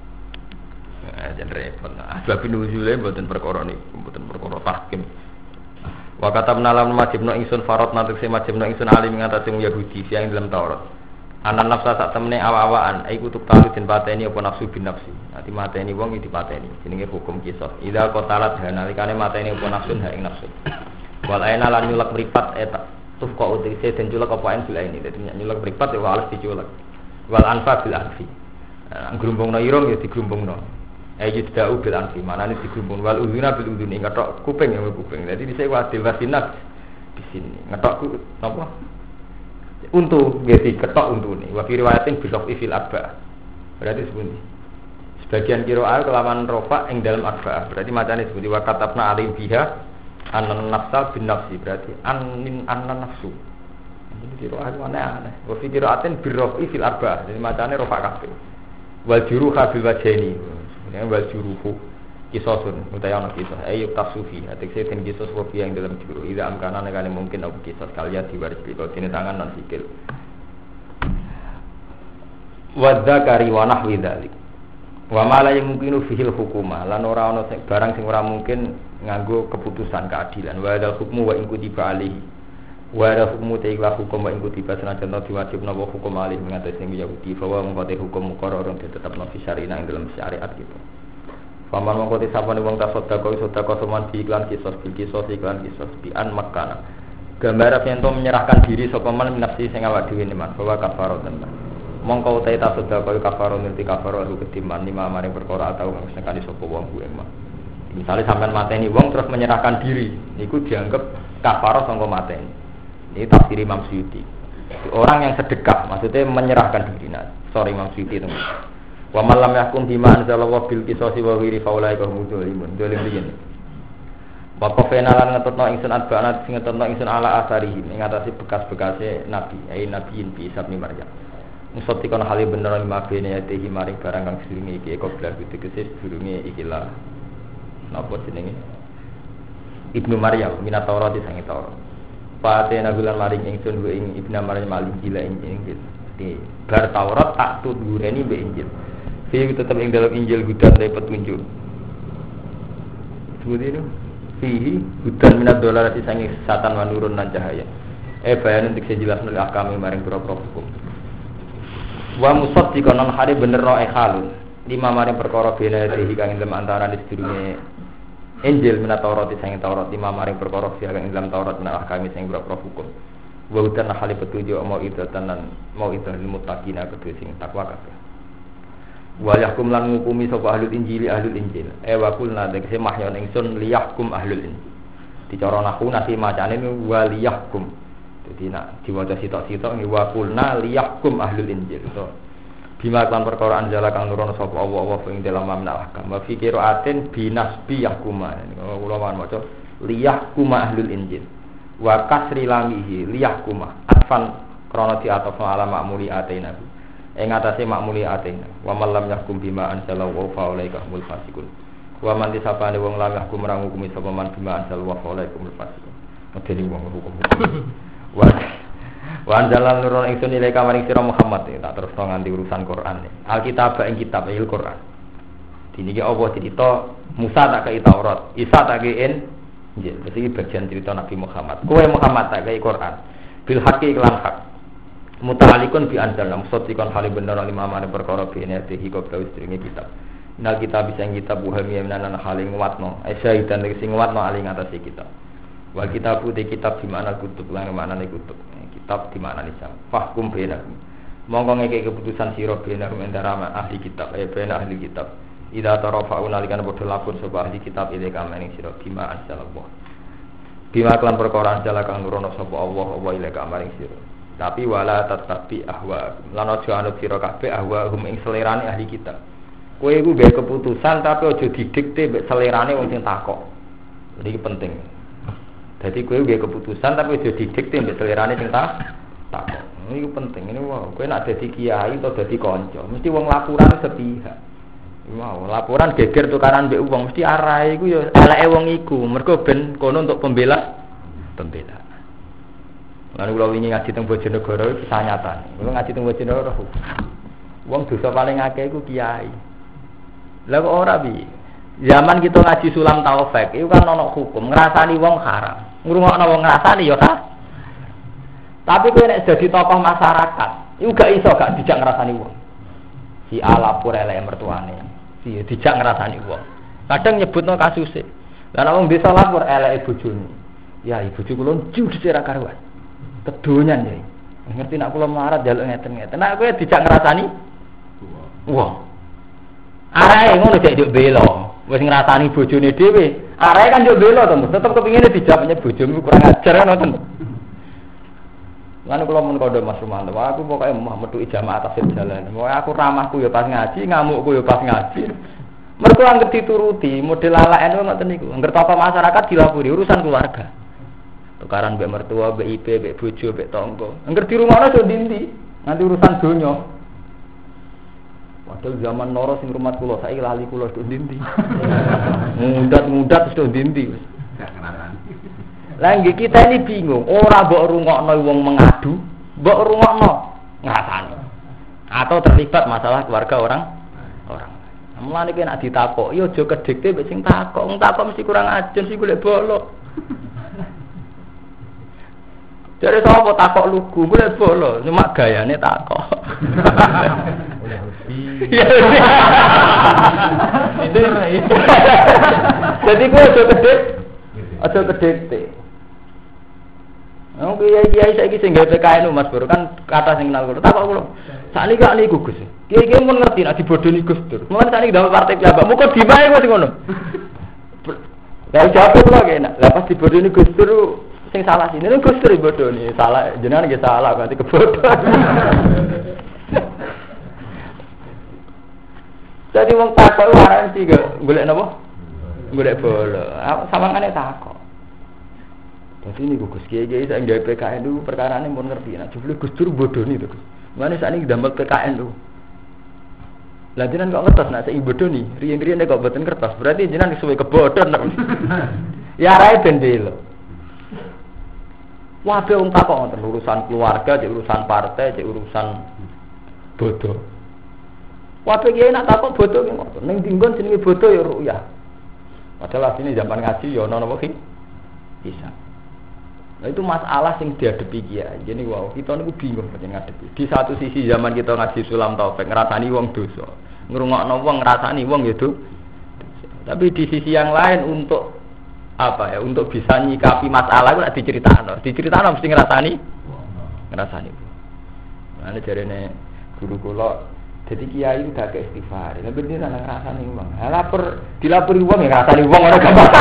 jan repot. Sebab nuzule mboten perkara niku, mboten perkara tahkim. Wa katabna lam majibno ingsun farad natek se majibno ingsun alim ngatasi Yahudi yang dalam Taurat. Anan nafsa sak temene awa-awaan iku tuk talu den pateni apa nafsu bin nafsi. Nanti mateni wong iki dipateni. Jenenge hukum qisas. Ida qatalat nalikane mateni apa nafsun ha ing nafsu. Wal aina lan nyulak mripat eta. Tuf kok utise den culak apa en bila ini. Dadi nyulak mripat ya wales diculak. Wal anfa bil anfi. Ngrumbungno irung ya digrumbungno. Ayo tidak bil anfi, manane digrumbung wal udhuna bil udhuni ngetok kuping ya kuping. Dadi dhisik wadil wasinat di sini. Ngetok napa? Untu nggih diketok untune. Wa fi riwayatin bil fil arba. Berarti sepundi? Sebagian qiraah kelawan rofa ing dalam arba. Berarti macane sepundi wa katabna alim biha anan nafsa bin nafsi. Berarti anin anan nafsu. Ini qiraah aneh-aneh. Wa fi qiraatin bil fil arba. Jadi macane rofa kabeh. Wal juruha bil wajhaini. Ya wal juruhu kisosun utawa ana kisah ayo tasufi atekse ten kisos wafi yang dalam juru ida amkana nekane mungkin apa kisah kalian diwaris di dene tangan lan sikil wa dzakari wa nahwi dzalik wa ma la yumkinu fihil hukuma lan ora ana sing barang sing ora mungkin nganggo keputusan keadilan wa dal hukmu wa in kutiba alihi wa dal hukmu ta'ala hukum wa in kutiba senajan diwajibna wa hukum alih mengatasi Yahudi bahwa mengkote hukum muqarrarun ditetapno fi syari'ah ing dalam syariat gitu. Paman mengkote sapane wong tasodako sedekah soman di iklan kisos bil kisos iklan kisos bi an makana. Gambar yen to menyerahkan diri sapa man nafsi sing awak dhewe man bahwa kafarah tenan. Mongko utahe tasodako kafarah ngerti kafarah lu ketiman lima maring perkara atau wong sing kali sapa wong kuwi mah. Misale sampean mateni wong terus menyerahkan diri niku dianggap kafarah sangka mateni. Ini tafsir Imam Suyuti. Orang yang sedekah maksudnya menyerahkan diri. Nah, sorry Imam Suyuti teman. Wa man lam yahkum bima anzalallahu bil qisasi wa ghairi faulaika hum dzalimun. Dzalim begini. Wa qafena lan ngetutno ingsun adbana sing ngetutno ingsun ala asarihim ing atase bekas-bekase nabi, ai nabiin bi Isa bin Maryam. Musatikon hale bener lima bene ya tehi maring barang kang sedurunge iki eko blas diteges sedurunge iki lah. Napa jenenge? Ibnu Maryam minat Taurat sange Taurat. Patena bulan maring ingsun wa ing Ibnu Maryam malih gila ing Injil. Di bar Taurat tak tudureni mbek Injil. Fi tetep ing dalam Injil hudan te petunjuk. Seperti itu. Fihi hudan minad dolarati sange satan wa nurun lan cahaya. Eh bayan untuk sejelasno akame maring pira-pira hukum. Wa musaddiqan lan hari bener no ekhalun. Lima maring perkara bena dehi kang ing antara sedurunge Injil minat Taurat sange Taurat lima maring perkara kang ing dalam Taurat menawa kami sing pira-pira hukum. Wa hudan hale petunjuk mau itu tenan mau itu muttaqina kedue sing takwa kabeh. Wa yahkum lan ngukumi sapa ahlul injil ahlul injil e wa kulna dekse mahyon ingsun liyahkum ahlul injil dicara nahwu nasi macane wa liyahkum dadi nak diwaca sitok-sitok ngi wa kulna liyahkum ahlul injil to bima kan perkara anjala kang nurono sapa Allah wa ing dalam mamna ahkam wa fi qiraatin binasbi yahkuma kula wan maca liyahkum ahlul injil wa kasri lamihi liyahkum atfan krana di ataf ala ma'muli ataina ing atase makmuli atena wa man lam yahkum bima anzalallahu fa ulaika humul fasiqun wa man disapane wong lam yahkum ra ngukumi sapa man bima anzalallahu fa ulaika humul fasiqun medeni wong hukum wa wa anzalal nurun ingsun ilaika maring sira Muhammad tak terus nganti urusan Quran Alkitab ing kitab il Quran diniki apa cerita Musa tak kei Taurat Isa tak kei Injil iki bagian cerita Nabi Muhammad kowe Muhammad tak kei Quran bil haqqi lan hak muta'alikun bi anzal musaddiqan hali bener lima mane perkara bene tehi kok wis dringe kitab. Nal kita bisa kitab buhami menanan hale nguatno. Aisyah dan sing nguatno ali ngatasi kitab. Wa kitab putih kitab di mana kutub lan maknane kutub. Kitab di mana nisam. Fahkum bainakum. Monggo ngeke keputusan sira bainakum antara ahli kitab eh ben ahli kitab. Ida tarafa'un alikan padha lapun sapa ahli kitab ile kamaning sira bima anzalallah. Bima kelan perkara anjala kang nurono sapa Allah wa ile kamaring sira. Tapi wala tatapi ahwa lan aja anut sira kabeh ahwa hum ing selerane ahli kitab. Kowe iku gawe keputusan tapi aja didikte mbek selerane wong sing takok. Jadi iki penting. Dadi kowe gawe keputusan tapi aja didikte mbek selerane sing takok. Ini penting. Ini wow, kowe nek dadi kiai atau dadi kanca, mesti wong laporan sepihak. Wow, laporan geger tukaran mbek wong mesti arahe iku ya eleke wong iku. Mergo ben kono untuk pembela pembela. Lalu kalau ingin ngaji teng Bojonegoro itu kisah nyata. Kalau ngaji teng Bojonegoro, wong dosa paling akeh iku kiai. Lah kok ora bi? Zaman kita ngaji sulam taufik, itu kan ono hukum ngrasani wong haram. Ngrungokno wong ngrasani ya ta. Tapi kowe nek dadi tokoh masyarakat, iku gak iso gak dijak ngrasani wong. Si alapur elek mertuane, si dijak ngrasani wong. Kadang nyebutno kasuse. Lah nek wong desa lapor eleke bojone. Ya ibu bojo kula judes ra karuan. Kedonyan ya. Ngerti nek kula melarat njaluk ngeten-ngeten. Nek kowe dijak ngrasani wong. Arae ngono cek njuk bela. Wis ngrasani bojone dhewe. Arae kan njuk bela to, tetep kepingine dijawabnya bojomu kurang ajar ngoten. Lan kula mun kandha Mas Rumanto, aku pokoke mah metu jamaah atas jalan. Pokoke aku ramahku ya pas ngaji, ngamukku ya pas ngaji. Mergo anggere dituruti, model ala-ala ngoten niku. Angger tata masyarakat dilapuri urusan keluarga. Tukaran mbek mertua, mbek ipe, mbek bojo, mbek tangga. Angger di rumahna yo ndi-ndi, nanti urusan donya. Padahal zaman loro sing rumah kula saiki lali kula tok ndi-ndi. Mudat-mudat wis tok ndi-ndi wis. Lah nggih kita ini bingung, ora mbok rungokno wong mengadu, mbok rungokno ngrasani. Atau terlibat masalah keluarga orang orang. Mulane ki nek ditakok, yo aja kedhikte mbek sing takok, wong takok mesti kurang ajen sih golek bolok. Jare sapa takok lugu, golek bolok, cuma gayane takok. Itu jadi gue aja kedek, aja kedek. Oh kiai-kiai saiki sing gawe P K N Mas Bro kan kata sing kenal kula. Takok kula. Sakniki kok niku Gus. Kiai-kiai mun ngerti nek dibodoni Gus Dur. Mulane sakniki dalam partai piyambak. Muga dimae wis ngono. Lah jawab kula kena. Lah pas dibodoni Gus Dur sing salah sini Gus Dur dibodoni. Salah jenengan nggih salah berarti kebodhon. Jadi wong takok waran sih golek napa? Golek bola. Sawangane takok. Dadi niku Gus Kiai-kiai sak gawe P K N itu perkarane mun ngerti. Nek jebule Gus Dur bodoni to Gus. Mane sakniki damel P K N lho. Lah jenengan kok ngertos nek saiki bodoni, riyen-riyen kok boten kertas. Berarti jenengan suwe kebodhon. Ya rae ben lho. Wae wong takok ngoten urusan keluarga, cek urusan partai, cek urusan bodoh. Wae kiai nak takok bodoh ki ngoten. Ning dinggon jenenge bodoh ya ruyah. Padahal asline zaman ngaji ya ana napa ki? Bisa. Nah itu masalah sing dihadapi kiai. Jadi wow, kita niku bingung nek ngadepi. Di satu sisi zaman kita ngaji sulam taufik ngrasani wong dosa. Ngrungokno wong ngrasani wong ya do. Tapi di sisi yang lain untuk apa ya? Untuk bisa nyikapi masalah iku nek diceritakno. Diceritakno mesti ngrasani ngrasani. Nah jarene guru kula jadi kiai itu dak istighfar. Lah ben dia nang ngrasani wong. Ha lapor dilapori wong ya ngrasani wong ora gampang.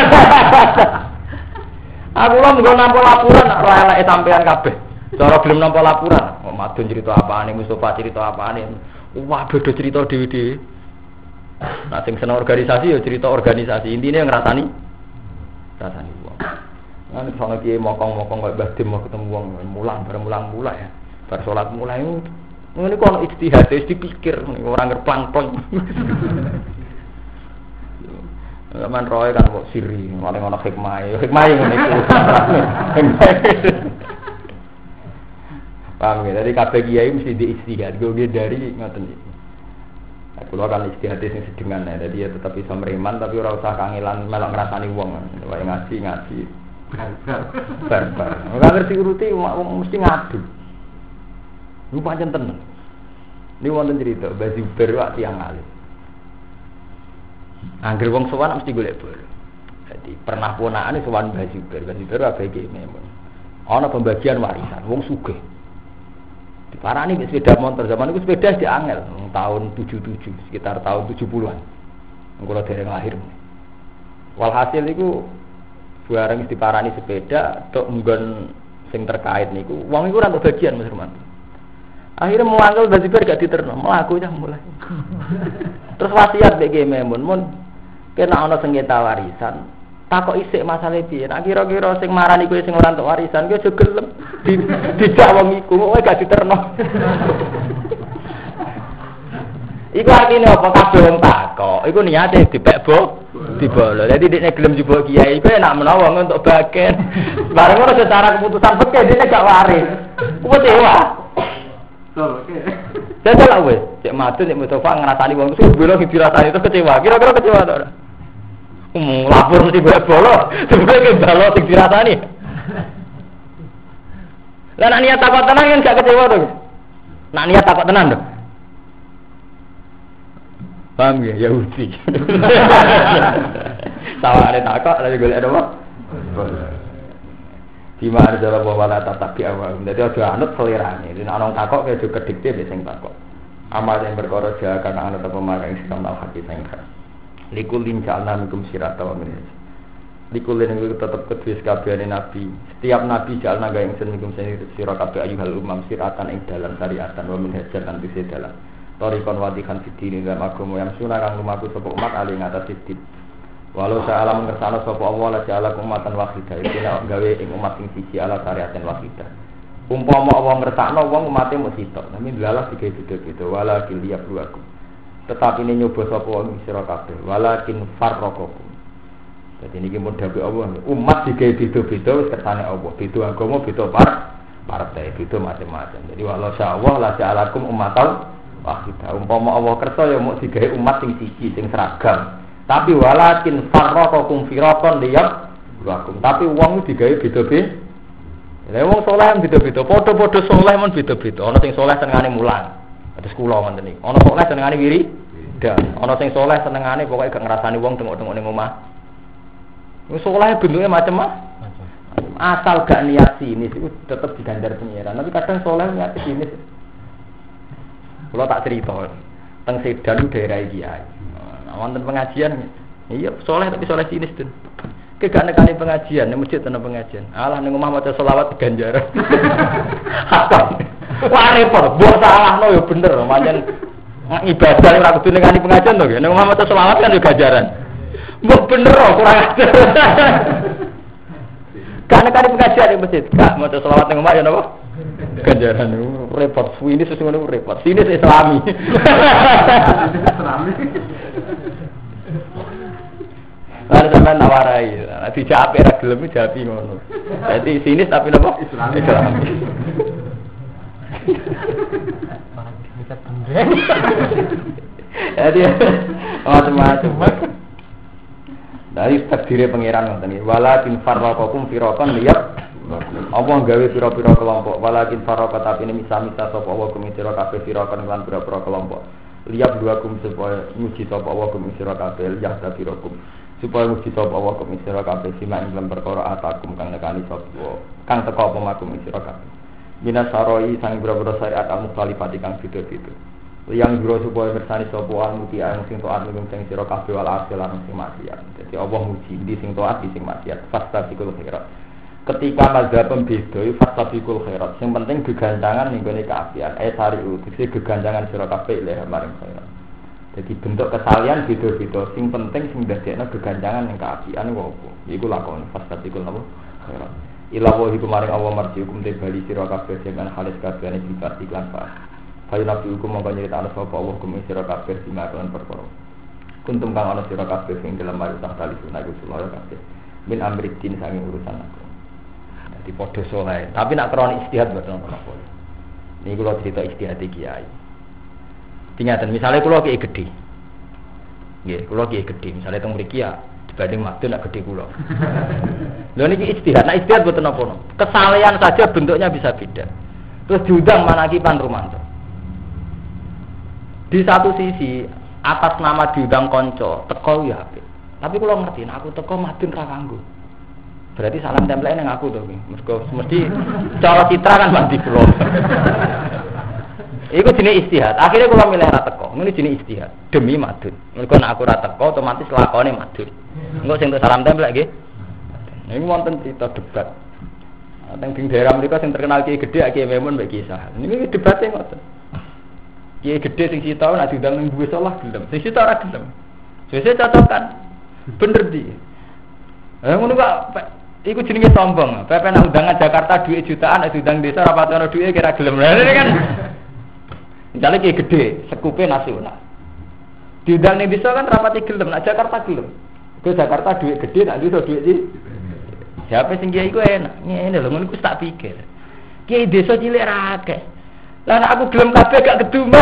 Aku lho nggo nampa laporan ora eleke sampean kabeh. Cara gelem nampa laporan, kok madun cerita apane, Mustofa cerita apane. Wah, beda cerita dhewe-dhewe. Nah, sing seneng organisasi ya cerita organisasi. Intine ngrasani rasani wong. Lah nek sono kiye mokong-mokong kok Mbah Dim mau ketemu wong mulang bareng mulang mulai ya. Bar salat mulai ngene kok ono ijtihad wis dipikir ora ngerplang-plang. Zaman roe kan kok siri, paling ana hikmah. Hikmah ngene iku. Paham ya, dari kabeh kiai mesti diistihad, gue dari ngoten iki. Aku lho kan istihad sing sedengan ya, jadi ya tetap bisa meriman tapi ora usah kangelan melok ngrasani wong. Wae ngaji ngaji. Barbar. Ora ngerti uruti mesti ngadu. Lu pancen tenan. Ini wonten cerita, Mbah Zubair wae tiyang alim. Angger wong sowan mesti golek bolo. Jadi pernah ponakane sowan Mbah Zubair, Mbah Zubair wae iki memang. Ana pembagian warisan wong sugih. Diparani wis sepeda motor zaman iku sepeda di angel tahun tujuh puluh tujuh sekitar tahun tujuh puluhan. Kula dereng lahir. Walhasil iku bareng diparani sepeda tok nggon sing terkait niku wong iku ora entuk bagian Mas Rumanto. Akhirnya muangkel Mbah Zubair gak diterno, mlaku ya mulai. Terus wasiat mek Memun, mun kena ana sengketa warisan, takok isik masalah piye. Nek kira-kira sing marani kowe sing ora entuk warisan, kowe aja gelem dijak wong iku, kowe gak diterno. Iku artine apa kabeh wong takok, iku niate dipek bo, dibolo. Dadi dekne gelem jebok kiai, kowe nek menawa untuk bagian. Bareng ora secara keputusan fikih dekne gak waris. Kuwi dewa. Oke. Jajal lah wes, cek madun, cek Mustafa ngerasani wong itu belok dirasani itu kecewa. Kira-kira kecewa tak? Um, lapor mesti boleh bolok, sebenarnya balok sing dirasani. Lah nak niat takut tenan kan gak kecewa tuh. Nak niat takut tenan tuh. Paham ya? Yahudi. Sama ada takut, lagi golek ada apa? Di mana cara bawa lata tapi awal. Jadi ada anut selirane. Jadi orang takut kayak juga dikte biasanya takut. Amal yang berkorot jaga karena anut apa marah yang sedang hati sengkar. Likulin jalna mikum sirata wa minhaj. Likulin itu tetap kedua sekabiane nabi. Setiap nabi jalna gaya yang mikum sirata kabeh ayuhal umam siratan ing dalam syariatan wa minhajan lan tise dalam. Torikon wadikan fidini dalam agama yang sunah kang lumaku sapa umat ali ngatas sidit. Walau saya alam mengersana sapa Allah la ja'ala umatan wahidah. Iki nek gawe ing umat sing siji ala syariatin wahidah. Umpama Allah ngersakno wong umate mung sitok, tapi dalah digawe beda-beda wala kiliyab luaku. Tetapi ini nyoba sapa wong sira kabeh walakin farraqakum. Dadi niki mun dawuh Allah umat digawe beda-beda wis kersane Allah. Beda agama, beda par partai, beda macam-macam. Jadi walau Allah la ja'alakum umatan wahidah. Umpama Allah kersa ya mung digawe umat sing siji sing seragam. Tapi walakin farraqakum firaqan liyab luakum. Tapi wong digawe beda-beda. Lah wong saleh beda-beda, padha-padha saleh men beda-beda. Ana sing saleh senengane mulang. Terus kula ngoten iki. Ana saleh senengane wiri. Dan ana sing saleh senengane pokoke gak ngrasani wong tengok-tengok ning omah. Wong saleh bentuke macam-macam. Asal gak niat sinis itu tetep digandar pengiran. Tapi kadang saleh niat sinis. Kula tak cerita. Teng Sedan daerah iki ae. Wonten pengajian. Iya, saleh tapi saleh sinis ten. Ke gak nekani pengajian, ning masjid ana pengajian. Alah ning omah maca selawat ganjaran. Apa? Wah repot, mbok salahno ya bener, pancen ibadah ora kudu nekani pengajian to, ning omah maca selawat kan yo ganjaran. Mbok bener kurang ajar. Gak nekani pengajian ning masjid, gak maca selawat ning omah ya napa? Ganjaran repot, suwi ini sesungguhnya repot. Sini Islami. Islami. Lalu sampai nawarai, dijawab era gelem dijawab ngono. Jadi sinis tapi napa? Islami. Islami. Jadi macam-macam. Dari takdir pangeran ngoten iki. Walakin farraqakum firaqan liyab. Apa gawe pira-pira kelompok. Walakin farraqa tapi ini misa-misa sapa wa kum sira kabeh firaqan lan pira-pira kelompok. Liyab dua kum supaya muji sapa wa kum sira kabeh liyab tabirakum. Supaya muji sapa Allah kum sira kabeh sima ing dalam perkara atakum kang nekani sapa kang teka apa makum sira kabeh minas saroi sang boro-boro syariat al-mukhalifati kang beda-beda yang jero supaya bersani sapa al-muti ang sing taat ning sing sira kabeh wal asal lan sing maksiat. Dadi Allah muji di sing taat di sing maksiat fastabiqul khairat. Ketika mazhab beda fastabiqul khairat sing penting geganjangan ning gone kaapian eh sariu dise geganjangan sira kabeh leh maring khairat. Jadi bentuk kesalian beda-beda. Sing penting sing ndadekno geganjangan ning kaapian kok apa? Iku lakon fastatikul napa? Khairat. Ila wa hikum maring Allah marji hukum te bali sira kabeh dengan halis kabehane sifat iklan fa. Fa nabi hukum mongko nyritakno sapa Allah hukum sira kabeh sing lan perkara. Kuntum kang ana sira kabeh sing dalam mari tak tali sunah iku sulaya kabeh. Min amriddin sange urusan aku. Dadi padha saleh. Tapi nak kroni istihad boten apa-apa. Niki kula cerita istihad iki kiai. Tingatan, misalnya kulo kiai gede, ya kulo kiai gede, misalnya teng mriki ya dibanding madun nak gede kulo. Lho niki ijtihad, nah ijtihad boten napa-napa. Kesalehan saja bentuknya bisa beda. Terus diundang Manaki Pan Rumanto. Di satu sisi atas nama diundang konco, teko ya apik. Tapi kulo ngerti, nek aku teko madun ra kanggo. Berarti salam template ning aku to kuwi. Mergo mesti cara citra kan mandi kulo. Iku jenis istihad. Akhirnya kalau milih ra teko, ini jenis istihad demi madun. Mergo nek aku ra teko otomatis lakone madun. Engko sing salam tempel nggih. Ini wonten cerita debat. Teng ing daerah mriku sing terkenal kiai gedhe Kiai Memun mbek Kiai Sahal. Niki debate ngoten. Kiai gedhe sing sita nek diundang ning duwe salah gelem. Sing sita ora gelem. Sesuk cocokan. Bener di. Eh ngono kok iku jenenge sombong. Pepe nek undangan Jakarta duit jutaan nek diundang desa ora pati ana duit kira gelem. Lah ini kan misalnya kayak gede, sekupe nasional. Diundang ning desa kan rapati gelem, nak Jakarta gelem. Ke Jakarta duit gede, nak desa duit iki. Siapa sing kiai iku enak. Ngene lho, ngono iku tak pikir. Kiai desa cilik ra akeh. Lah nek aku gelem kabeh gak keduma.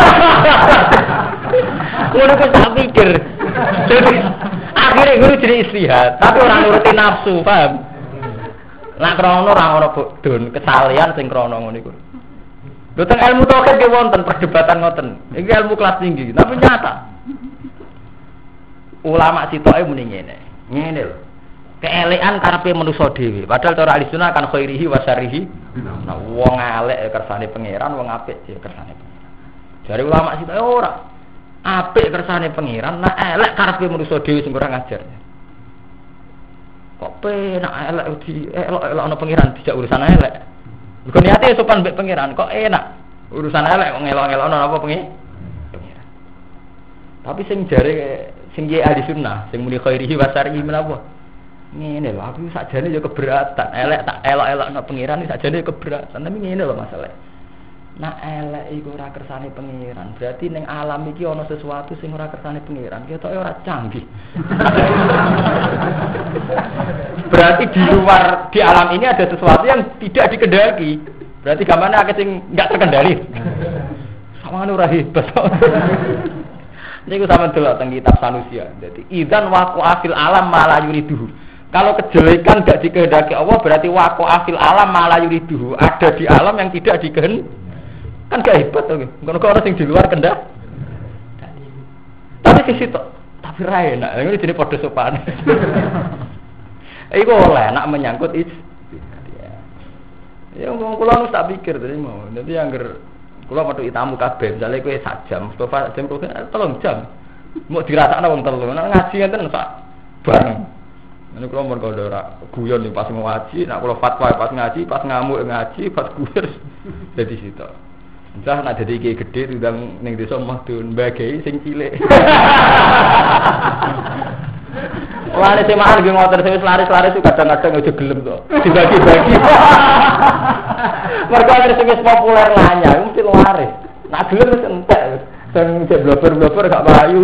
Ngono kok tak pikir. Jadi akhirnya guru jadi istihad, tapi orang nuruti nafsu, paham? Nak krono ora ono bodhon, kesalian sing krono ngono iku. Lho teng ilmu tauhid ge wonten perdebatan ngoten. Iki ilmu kelas tinggi, tapi nyata. Ulama sitoke muni ngene. Ngene lho. Keelekan karepe manusa dhewe, padahal cara ahli sunnah kan khairihi wa syarrihi. Nah, wong elek kersane pangeran, wong apik ya kersane pangeran. Jare ulama sitoke ora. Apik kersane pangeran, nah elek karepe manusa dhewe sing ora ngajar. Kok penak elek di elok-elok ana pangeran dijak urusan elek. Mergo niate sopan mbek pangeran, kok enak urusan elek kok ngelok-ngelok ana apa pangeran. Tapi sing jare sing ye ahli sunnah, sing muni khairihi wa syarrihi menapa? Ngene lho, aku sakjane ya keberatan. Elek tak elok-elok ana pangeran iki sakjane keberatan, tapi ngene lho masalah. Nah elek iku ora kersane pangeran, berarti ning alam iki ana sesuatu sing ora kersane pangeran. Ketoke ora canggih. Berarti di luar di alam ini ada sesuatu yang tidak dikendaki. Berarti gamane akeh sing enggak terkendali. Samane ora hebat. Niku sampeyan delok teng kitab Sanusia. Dadi idzan waqa'a fil alam ma la yuriduhu. Kalau kejelekan tidak dikehendaki Allah berarti waqa'a fil alam ma la yuriduhu. Ada di alam yang tidak dikehendaki. Kan gak hebat to. Ngono kok orang sing di luar kendak. Tapi sisi to, tapi ra enak. Ini jenenge padha sopan. Iku oleh nak menyangkut is. Ya wong kula nu tak pikir tadi mau. Dadi angger kula metu tamu kabeh, misale kowe sak jam, Mustofa jam telung jam. Mau dirasakno wong telu. Nek ngaji ngenten sak bareng. Nek kula mun kandha ora guyon ning pas ngaji, nek kula fatwa pas ngaji, pas ngamuk ngaji, pas guyon dadi sitok. Entah nak dadi iki gedhe ndang ning desa Mahdun mbagei sing cilik. Wah, nek semaan ge ngoten wis laris-laris kadang-kadang aja gelem to. Dibagi-bagi. Mergo wis wis populer lanya, mesti laris. Nak gelem wis entek. Sing cek blober-blober gak payu.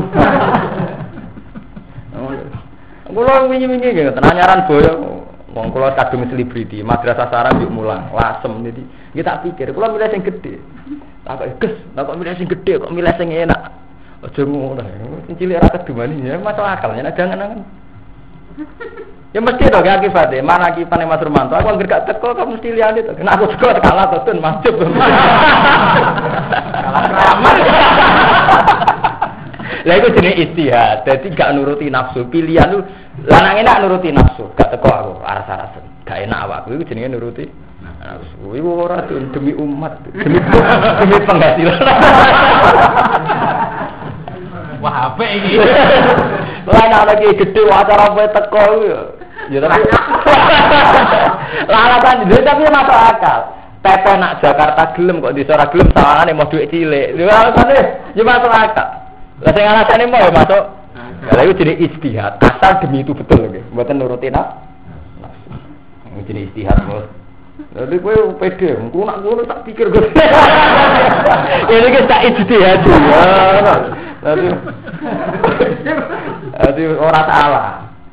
Kula wingi-wingi nggih tenanyaran boyo. Wong kula kadung selebriti, madrasah sarang yuk mulang, lasem jadi. Nggih tak pikir, kula milih sing gedhe. Tak kok ges, tak kok milih sing gedhe, kok milih sing enak. Aja ngono. Sing cilik ra kedumani ya masuk akal, nek jangan-jangan. Ya mesti to gak akibatnya, mana akibate Mas Romanto. Aku anggere gak teko kok mesti liyane to. Nek aku teko kalah to tun masjid. Kalah ramah. Lah iku jenenge istihad. Dadi gak nuruti nafsu, pilihan lu lanang enak nuruti nafsu, gak teko aku aras-arasen. Gak enak awakku iku jenenge nuruti nafsu. Iku ora demi umat, demi demi penghasilan. Wah, apik iki. Lah nek lagi gedhe acara apa teko ya. Ya tapi lah alasan dhewe tapi masuk akal. Pepe nak Jakarta gelem kok di ora gelem sawangane mau duit cilik. Lha alasane ya masuk akal. Lah sing alasane mau ya masuk. Lah iku jenenge ijtihad. Asal demi itu betul nggih. Mboten nuruti nafsu. Ini jenenge ijtihad, Bos. Lha kowe pede, engko nak ngono tak pikir kok. Ini ki tak ijtihad. Dadi Dadi ora salah.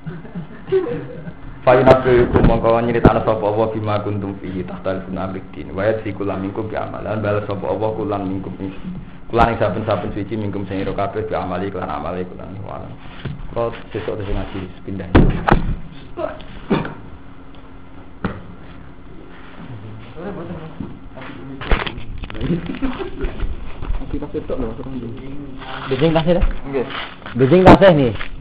Fa'inafikum mongko nyritana sapa Allah bima kuntum fihi tahtal sunabidin wa yadhikul minkum bi amalan bal sapa Allah kulan minkum kulan ing saben-saben suci minkum sing ira kabeh bi amali lan amale kulan wala. Kok sesuk sing ngaji pindah. Kita setok lho, Bejing kasih dah. Nggih. Bejing kasih nih.